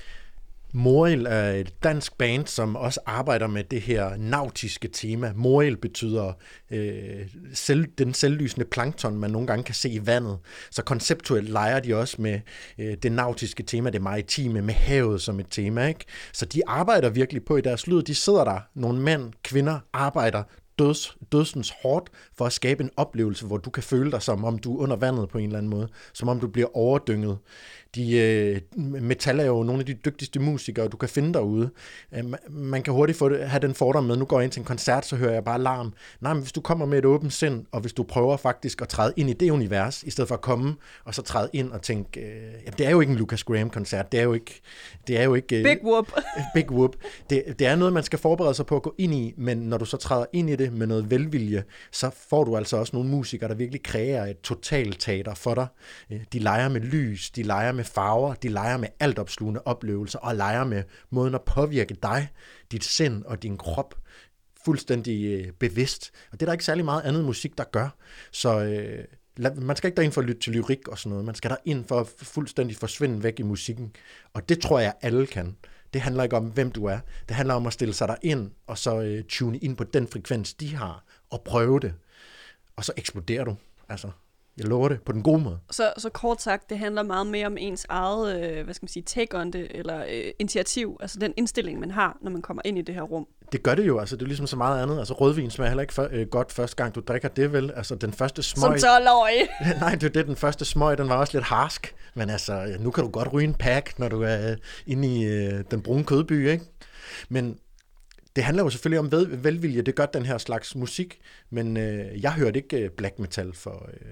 Moril er et dansk band, som også arbejder med det her nautiske tema. Moril betyder øh, selv, den selvlysende plankton, man nogle gange kan se i vandet. Så konceptuelt leger de også med øh, det nautiske tema, det maritime, med havet som et tema, ikke? Så de arbejder virkelig på i deres lyd. De sidder der, nogle mænd, kvinder, arbejder døds, dødsens hårdt for at skabe en oplevelse, hvor du kan føle dig som om du er under vandet på en eller anden måde. Som om du bliver overdynget. De, øh, metal er jo nogle af de dygtigste musikere, du kan finde derude. Øh, man kan hurtigt få det, have den fordom med, nu går jeg ind til en koncert, så hører jeg bare larm. Nej, men hvis du kommer med et åbent sind, og hvis du prøver faktisk at træde ind i det univers, i stedet for at komme og så træde ind og tænke, øh, jamen, det er jo ikke en Lucas Graham-koncert, det er jo ikke... Det er jo ikke øh, Big whoop. Big whoop. Det, det er noget, man skal forberede sig på at gå ind i, men når du så træder ind i det med noget velvilje, så får du altså også nogle musikere, der virkelig kræver et totalteater for dig. De leger med lys, de leger med farver, de leger med altopslugende oplevelser, og leger med måden at påvirke dig, dit sind og din krop fuldstændig øh, bevidst. Og det er der ikke særlig meget andet musik, der gør. Så øh, lad, man skal ikke derind for at lytte til lyrik og sådan noget. Man skal derind for at fuldstændig forsvinde væk i musikken. Og det tror jeg, alle kan. Det handler ikke om, hvem du er. Det handler om at stille sig derind, og så øh, tune ind på den frekvens, de har, og prøve det. Og så eksploderer du. Altså, jeg lover det på den gode måde. Så, så kort sagt, det handler meget mere om ens eget, øh, hvad skal man sige, take on det, eller øh, initiativ, altså den indstilling, man har, når man kommer ind i det her rum. Det gør det jo, altså det er ligesom så meget andet. Altså rødvin smager heller ikke for, øh, godt første gang, du drikker det vel. Altså den første smøg... Som tolv-årig! Nej, det er det, den første smøg, den var også lidt harsk. Men altså, nu kan du godt ryge en pack, når du er øh, inde i øh, den brune kødby, ikke? Men det handler jo selvfølgelig om ved, velvilje, det gør den her slags musik. Men øh, jeg hørte ikke øh, black metal for øh,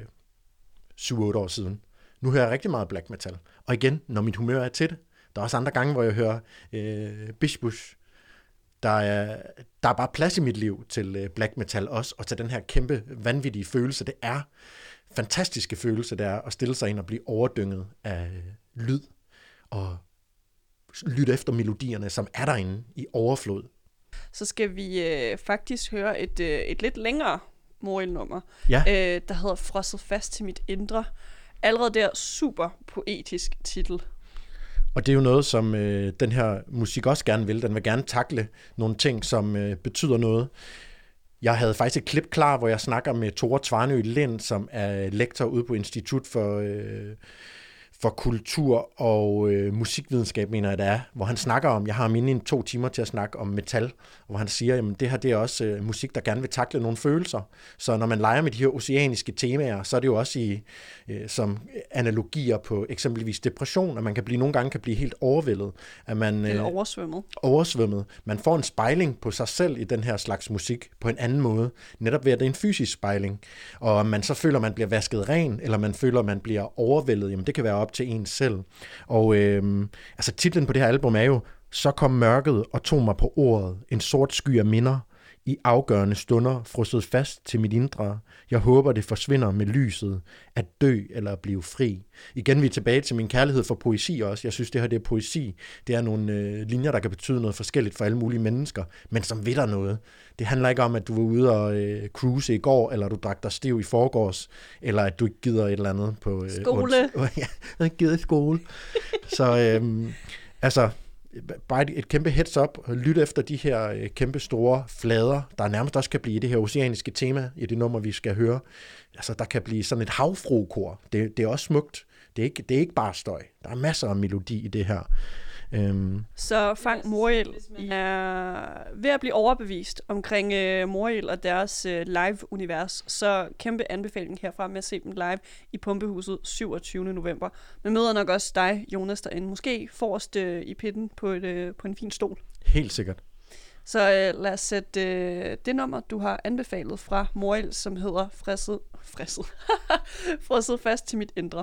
syv otte år siden. Nu hører jeg rigtig meget black metal. Og igen, når mit humør er til det. Der er også andre gange, hvor jeg hører øh, Bishbush. Der er, der er bare plads i mit liv til øh, black metal også, og til den her kæmpe, vanvittige følelse. Det er fantastiske følelse, det er at stille sig ind og blive overdynget af øh, lyd, og lytte efter melodierne, som er derinde i overflod. Så skal vi øh, faktisk høre et, øh, et lidt længere Moril-nummer, ja. øh, der hedder Frosset fast til mit indre. Allerede der super poetisk titel. Og det er jo noget, som øh, den her musik også gerne vil. Den vil gerne takle nogle ting, som øh, betyder noget. Jeg havde faktisk et klip klar, hvor jeg snakker med Tore Tvarnø Lind, som er lektor ude på Institut for, øh, for Kultur og øh, Musikvidenskab, mener jeg det er, hvor han snakker om, jeg har mine en to timer til at snakke om metal, hvor han siger, at det her det er også øh, musik, der gerne vil takle nogle følelser. Så når man leger med de her oceaniske temaer, så er det jo også i, øh, som analogier på eksempelvis depression, at man kan blive, nogle gange kan blive helt overvældet. At man, Eller oversvømmet. Oversvømmet. Man får en spejling på sig selv i den her slags musik på en anden måde, netop ved at det er en fysisk spejling. Og man så føler, man bliver vasket ren, eller man føler, man bliver overvældet, jamen det kan være op til en selv. Og øh, altså titlen på det her album er jo Så kom mørket og tog mig på ordet, en sort sky af minder, i afgørende stunder frosset fast til mit indre. Jeg håber, det forsvinder med lyset, at dø eller at blive fri. Igen, vi er tilbage til min kærlighed for poesi også. Jeg synes, det her det er poesi. Det er nogle øh, linjer, der kan betyde noget forskelligt for alle mulige mennesker, men som ved der noget. Det handler ikke om, at du var ude og øh, cruise i går, eller du drak dig stiv i forgårs, eller at du ikke gider et eller andet på... Øh, skole. Ja, jeg har ikke givet skole. Så øh, altså... bare et, et kæmpe heads up, lyt efter de her øh, kæmpe store flader, der nærmest også kan blive i det her oceaniske tema, i det nummer, vi skal høre. Altså, der kan blive sådan et havfruekor. Det, det er også smukt. Det er, ikke, det er ikke bare støj. Der er masser af melodi i det her. Øhm. Så Frank Morild er ved at blive overbevist omkring uh, Morild og deres uh, live-univers, så kæmpe anbefaling herfra med at se dem live i Pumpehuset syvogtyvende november. Men møder nok også dig, Jonas, derinde. Måske forrest uh, i pitten på, et, uh, på en fin stol. Helt sikkert. Så uh, lad os sætte uh, det nummer, du har anbefalet fra Morild, som hedder Frisset, frisset, Frosset fast til mit indre.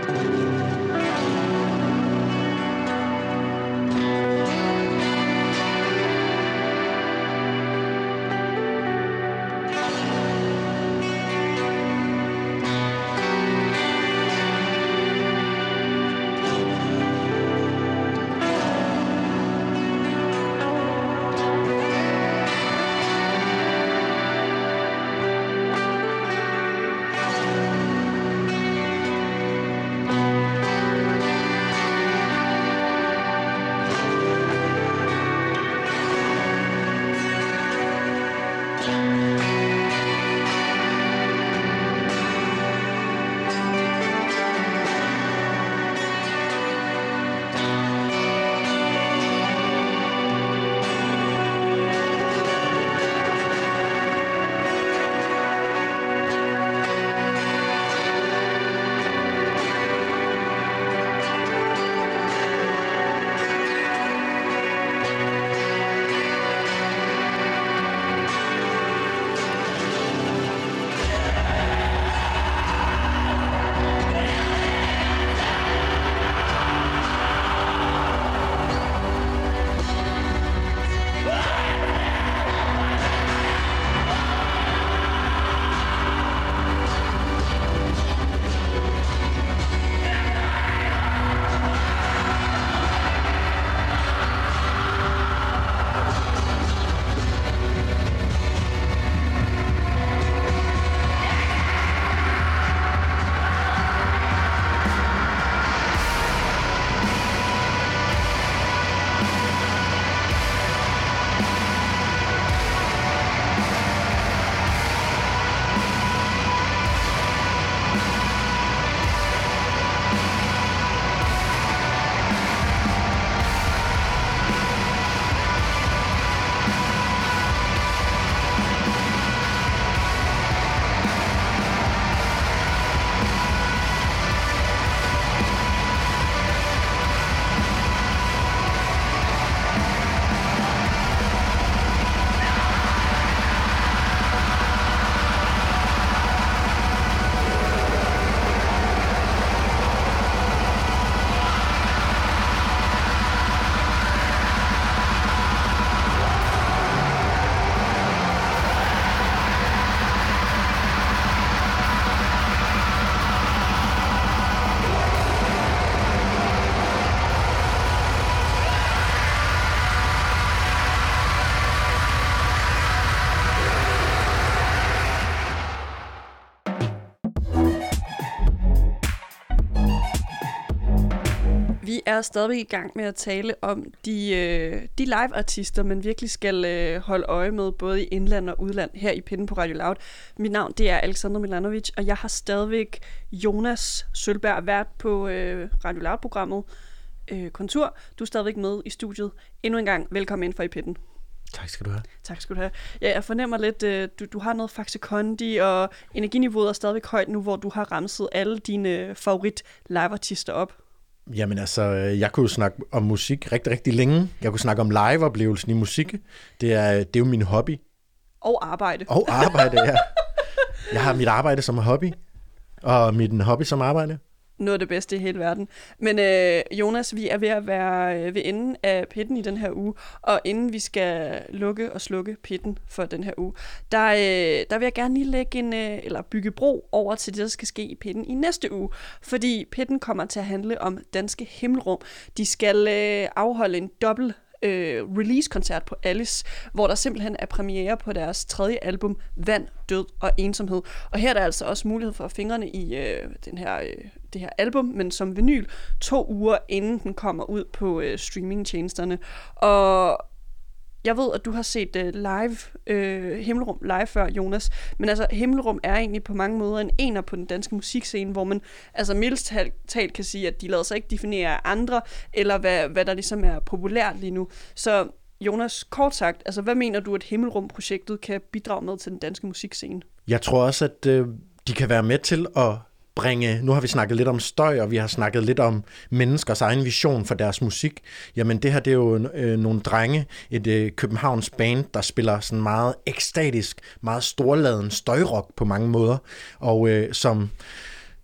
Vi er stadig i gang med at tale om de, øh, de live-artister, man virkelig skal øh, holde øje med, både i indland og udland, her i Pinden på Radio Loud. Mit navn, det er Alexandra Milanovic, og jeg har stadigvæk Jonas Sølberg, vært på øh, Radio Loud-programmet øh, Kontur. Du er stadigvæk med i studiet. Endnu en gang, velkommen ind for i Pinden. Tak skal du have. Tak skal du have. Ja, jeg fornemmer lidt, øh, du, du har noget Faxe Kondi, og energiniveauet er stadigvæk højt nu, hvor du har ramset alle dine favorit live-artister op. Jamen altså, jeg kunne jo snakke om musik rigtig, rigtig længe. Jeg kunne snakke om live-oplevelsen i musik. Det er, det er jo min hobby. Og arbejde. Og arbejde, ja. Jeg har mit arbejde som hobby, og mit hobby som arbejde. Noget af det bedste i hele verden. Men øh, Jonas, vi er ved at være øh, ved enden af Pitten i den her uge, og inden vi skal lukke og slukke Pitten for den her uge, der, øh, der vil jeg gerne lige lægge en, øh, eller bygge bro over til det, der skal ske i Pitten i næste uge, fordi Pitten kommer til at handle om Danske Himmelrum. De skal øh, afholde en dobbelt Øh, release-koncert på Alice, hvor der simpelthen er premiere på deres tredje album, Vand, Død og Ensomhed. Og her er der altså også mulighed for fingrene i øh, den her, øh, det her album, men som vinyl, to uger inden den kommer ud på øh, streamingtjenesterne. Og jeg ved, at du har set uh, live uh, Himmelrum live før, Jonas. Men altså, Himmelrum er egentlig på mange måder en ener på den danske musikscene, hvor man altså mildest talt kan sige, at de lader sig ikke definere af andre, eller hvad, hvad der ligesom er populært lige nu. Så Jonas, kort sagt, altså hvad mener du, at Himmelrum-projektet kan bidrage med til den danske musikscene? Jeg tror også, at øh, de kan være med til at bringe, nu har vi snakket lidt om støj, og vi har snakket lidt om menneskers egen vision for deres musik. Jamen det her, det er jo øh, nogle drenge, et øh, Københavns band, der spiller sådan meget ekstatisk, meget storladen støjrock på mange måder, og øh, som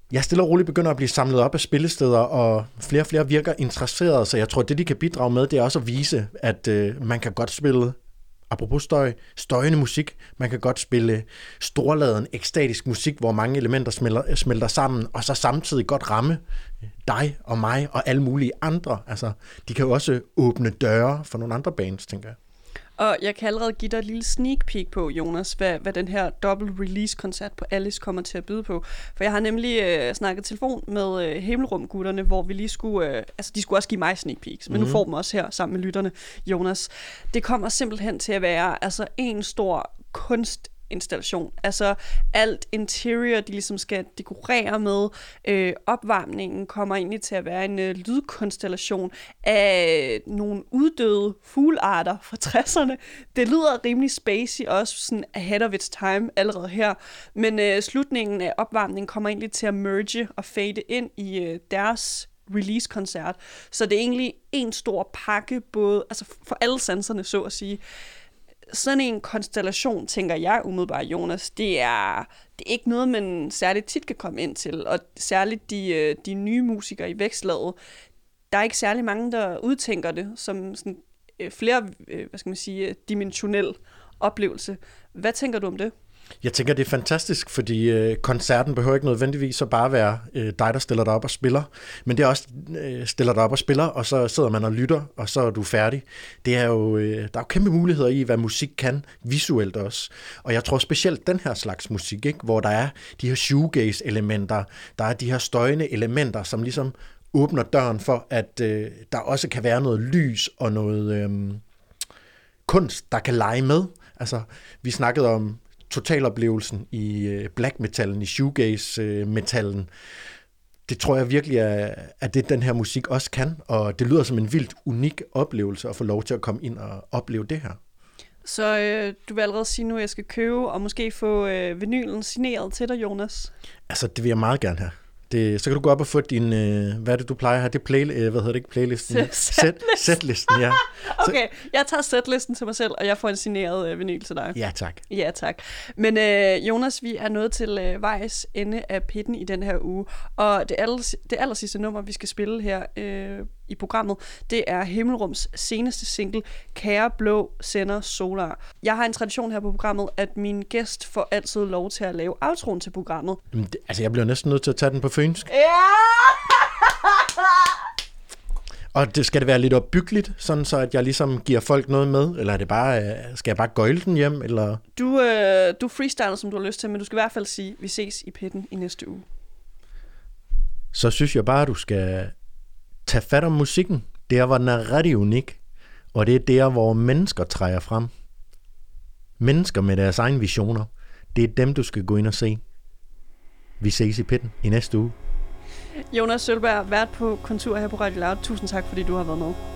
jeg stille og roligt begynder at blive samlet op af spillesteder, og flere og flere virker interesserede, så jeg tror, det de kan bidrage med, det er også at vise, at øh, man kan godt spille, apropos støj, støjende musik, man kan godt spille storladen, ekstatisk musik, hvor mange elementer smelter, smelter sammen, og så samtidig godt ramme dig og mig og alle mulige andre. Altså, de kan jo også åbne døre for nogle andre bands, tænker jeg. Og jeg kan allerede give dig et lille sneak peek på, Jonas, hvad, hvad den her dobbelt release-koncert på Alice kommer til at byde på. For jeg har nemlig øh, snakket telefon med øh, Himmelrum-gutterne, hvor vi lige skulle... Øh, altså, de skulle også give mig sneak peeks, men mm. nu får dem også her sammen med lytterne, Jonas. Det kommer simpelthen til at være altså en stor kunst installation. Altså alt interior, de ligesom skal dekorere med. Øh, opvarmningen kommer egentlig til at være en øh, lydkonstellation af nogle uddøde fuglearter fra tresserne. Det lyder rimelig spacey, også sådan ahead of its time allerede her. Men øh, slutningen af opvarmningen kommer egentlig til at merge og fade ind i øh, deres release-koncert. Så det er egentlig en stor pakke, både altså for alle sanserne, så at sige. Sådan en konstellation, tænker jeg umiddelbart, Jonas, det er, det er ikke noget, man særligt tit kan komme ind til. Og særligt de, de nye musikere i vækstlaget, der er ikke særlig mange, der udtænker det som sådan flere, hvad skal man sige, dimensionel oplevelse. Hvad tænker du om det? Jeg tænker, det er fantastisk, fordi øh, koncerten behøver ikke nødvendigvis at bare være øh, dig, der stiller dig op og spiller, men det er også øh, stiller dig op og spiller, og så sidder man og lytter, og så er du færdig. Det er jo, øh, der er jo kæmpe muligheder i, hvad musik kan, visuelt også. Og jeg tror specielt den her slags musik, ikke, hvor der er de her shoegaze-elementer, der er de her støjende elementer, som ligesom åbner døren for, at øh, der også kan være noget lys og noget øh, kunst, der kan lege med. Altså, vi snakkede om totaloplevelsen i black metallen, i shoegaze-metallen. Det tror jeg virkelig er, at det den her musik også kan, og det lyder som en vildt unik oplevelse at få lov til at komme ind og opleve det her. Så øh, du vil allerede sige nu, at jeg skal købe og måske få øh, vinylen signeret til dig, Jonas? Altså, det vil jeg meget gerne have. Det, så kan du gå op og få din, øh, hvad er det, du plejer at have? Det er play, øh, hvad hedder det ikke, playlisten? Set, setlisten, ja. Okay, jeg tager setlisten til mig selv, og jeg får en signeret øh, vinyl til dig. Ja, tak. Ja, tak. Men øh, Jonas, vi er nået til øh, vejs ende af pitten i den her uge, og det, aller, det aller sidste nummer, vi skal spille her øh, i programmet, det er Himmelrums seneste single, Kære Blå Sender Solar. Jeg har en tradition her på programmet, at min gæst får altid lov til at lave outroen til programmet. Det, altså, jeg bliver næsten nødt til at tage den på fynsk. Ja! Og det, skal det være lidt opbyggeligt, sådan så at jeg ligesom giver folk noget med? Eller er det bare, skal jeg bare gøjle den hjem? Eller? Du, øh, du freestyler, som du har lyst til, men du skal i hvert fald sige, vi ses i pitten i næste uge. Så synes jeg bare, at du skal tage fat om musikken. Der, hvor den er ret unik. Og det er der, hvor mennesker træder frem. Mennesker med deres egne visioner. Det er dem, du skal gå ind og se. Vi ses i pitten i næste uge. Jonas Sølberg, vært på Kontur her på Radio Loud. Tusind tak, fordi du har været med.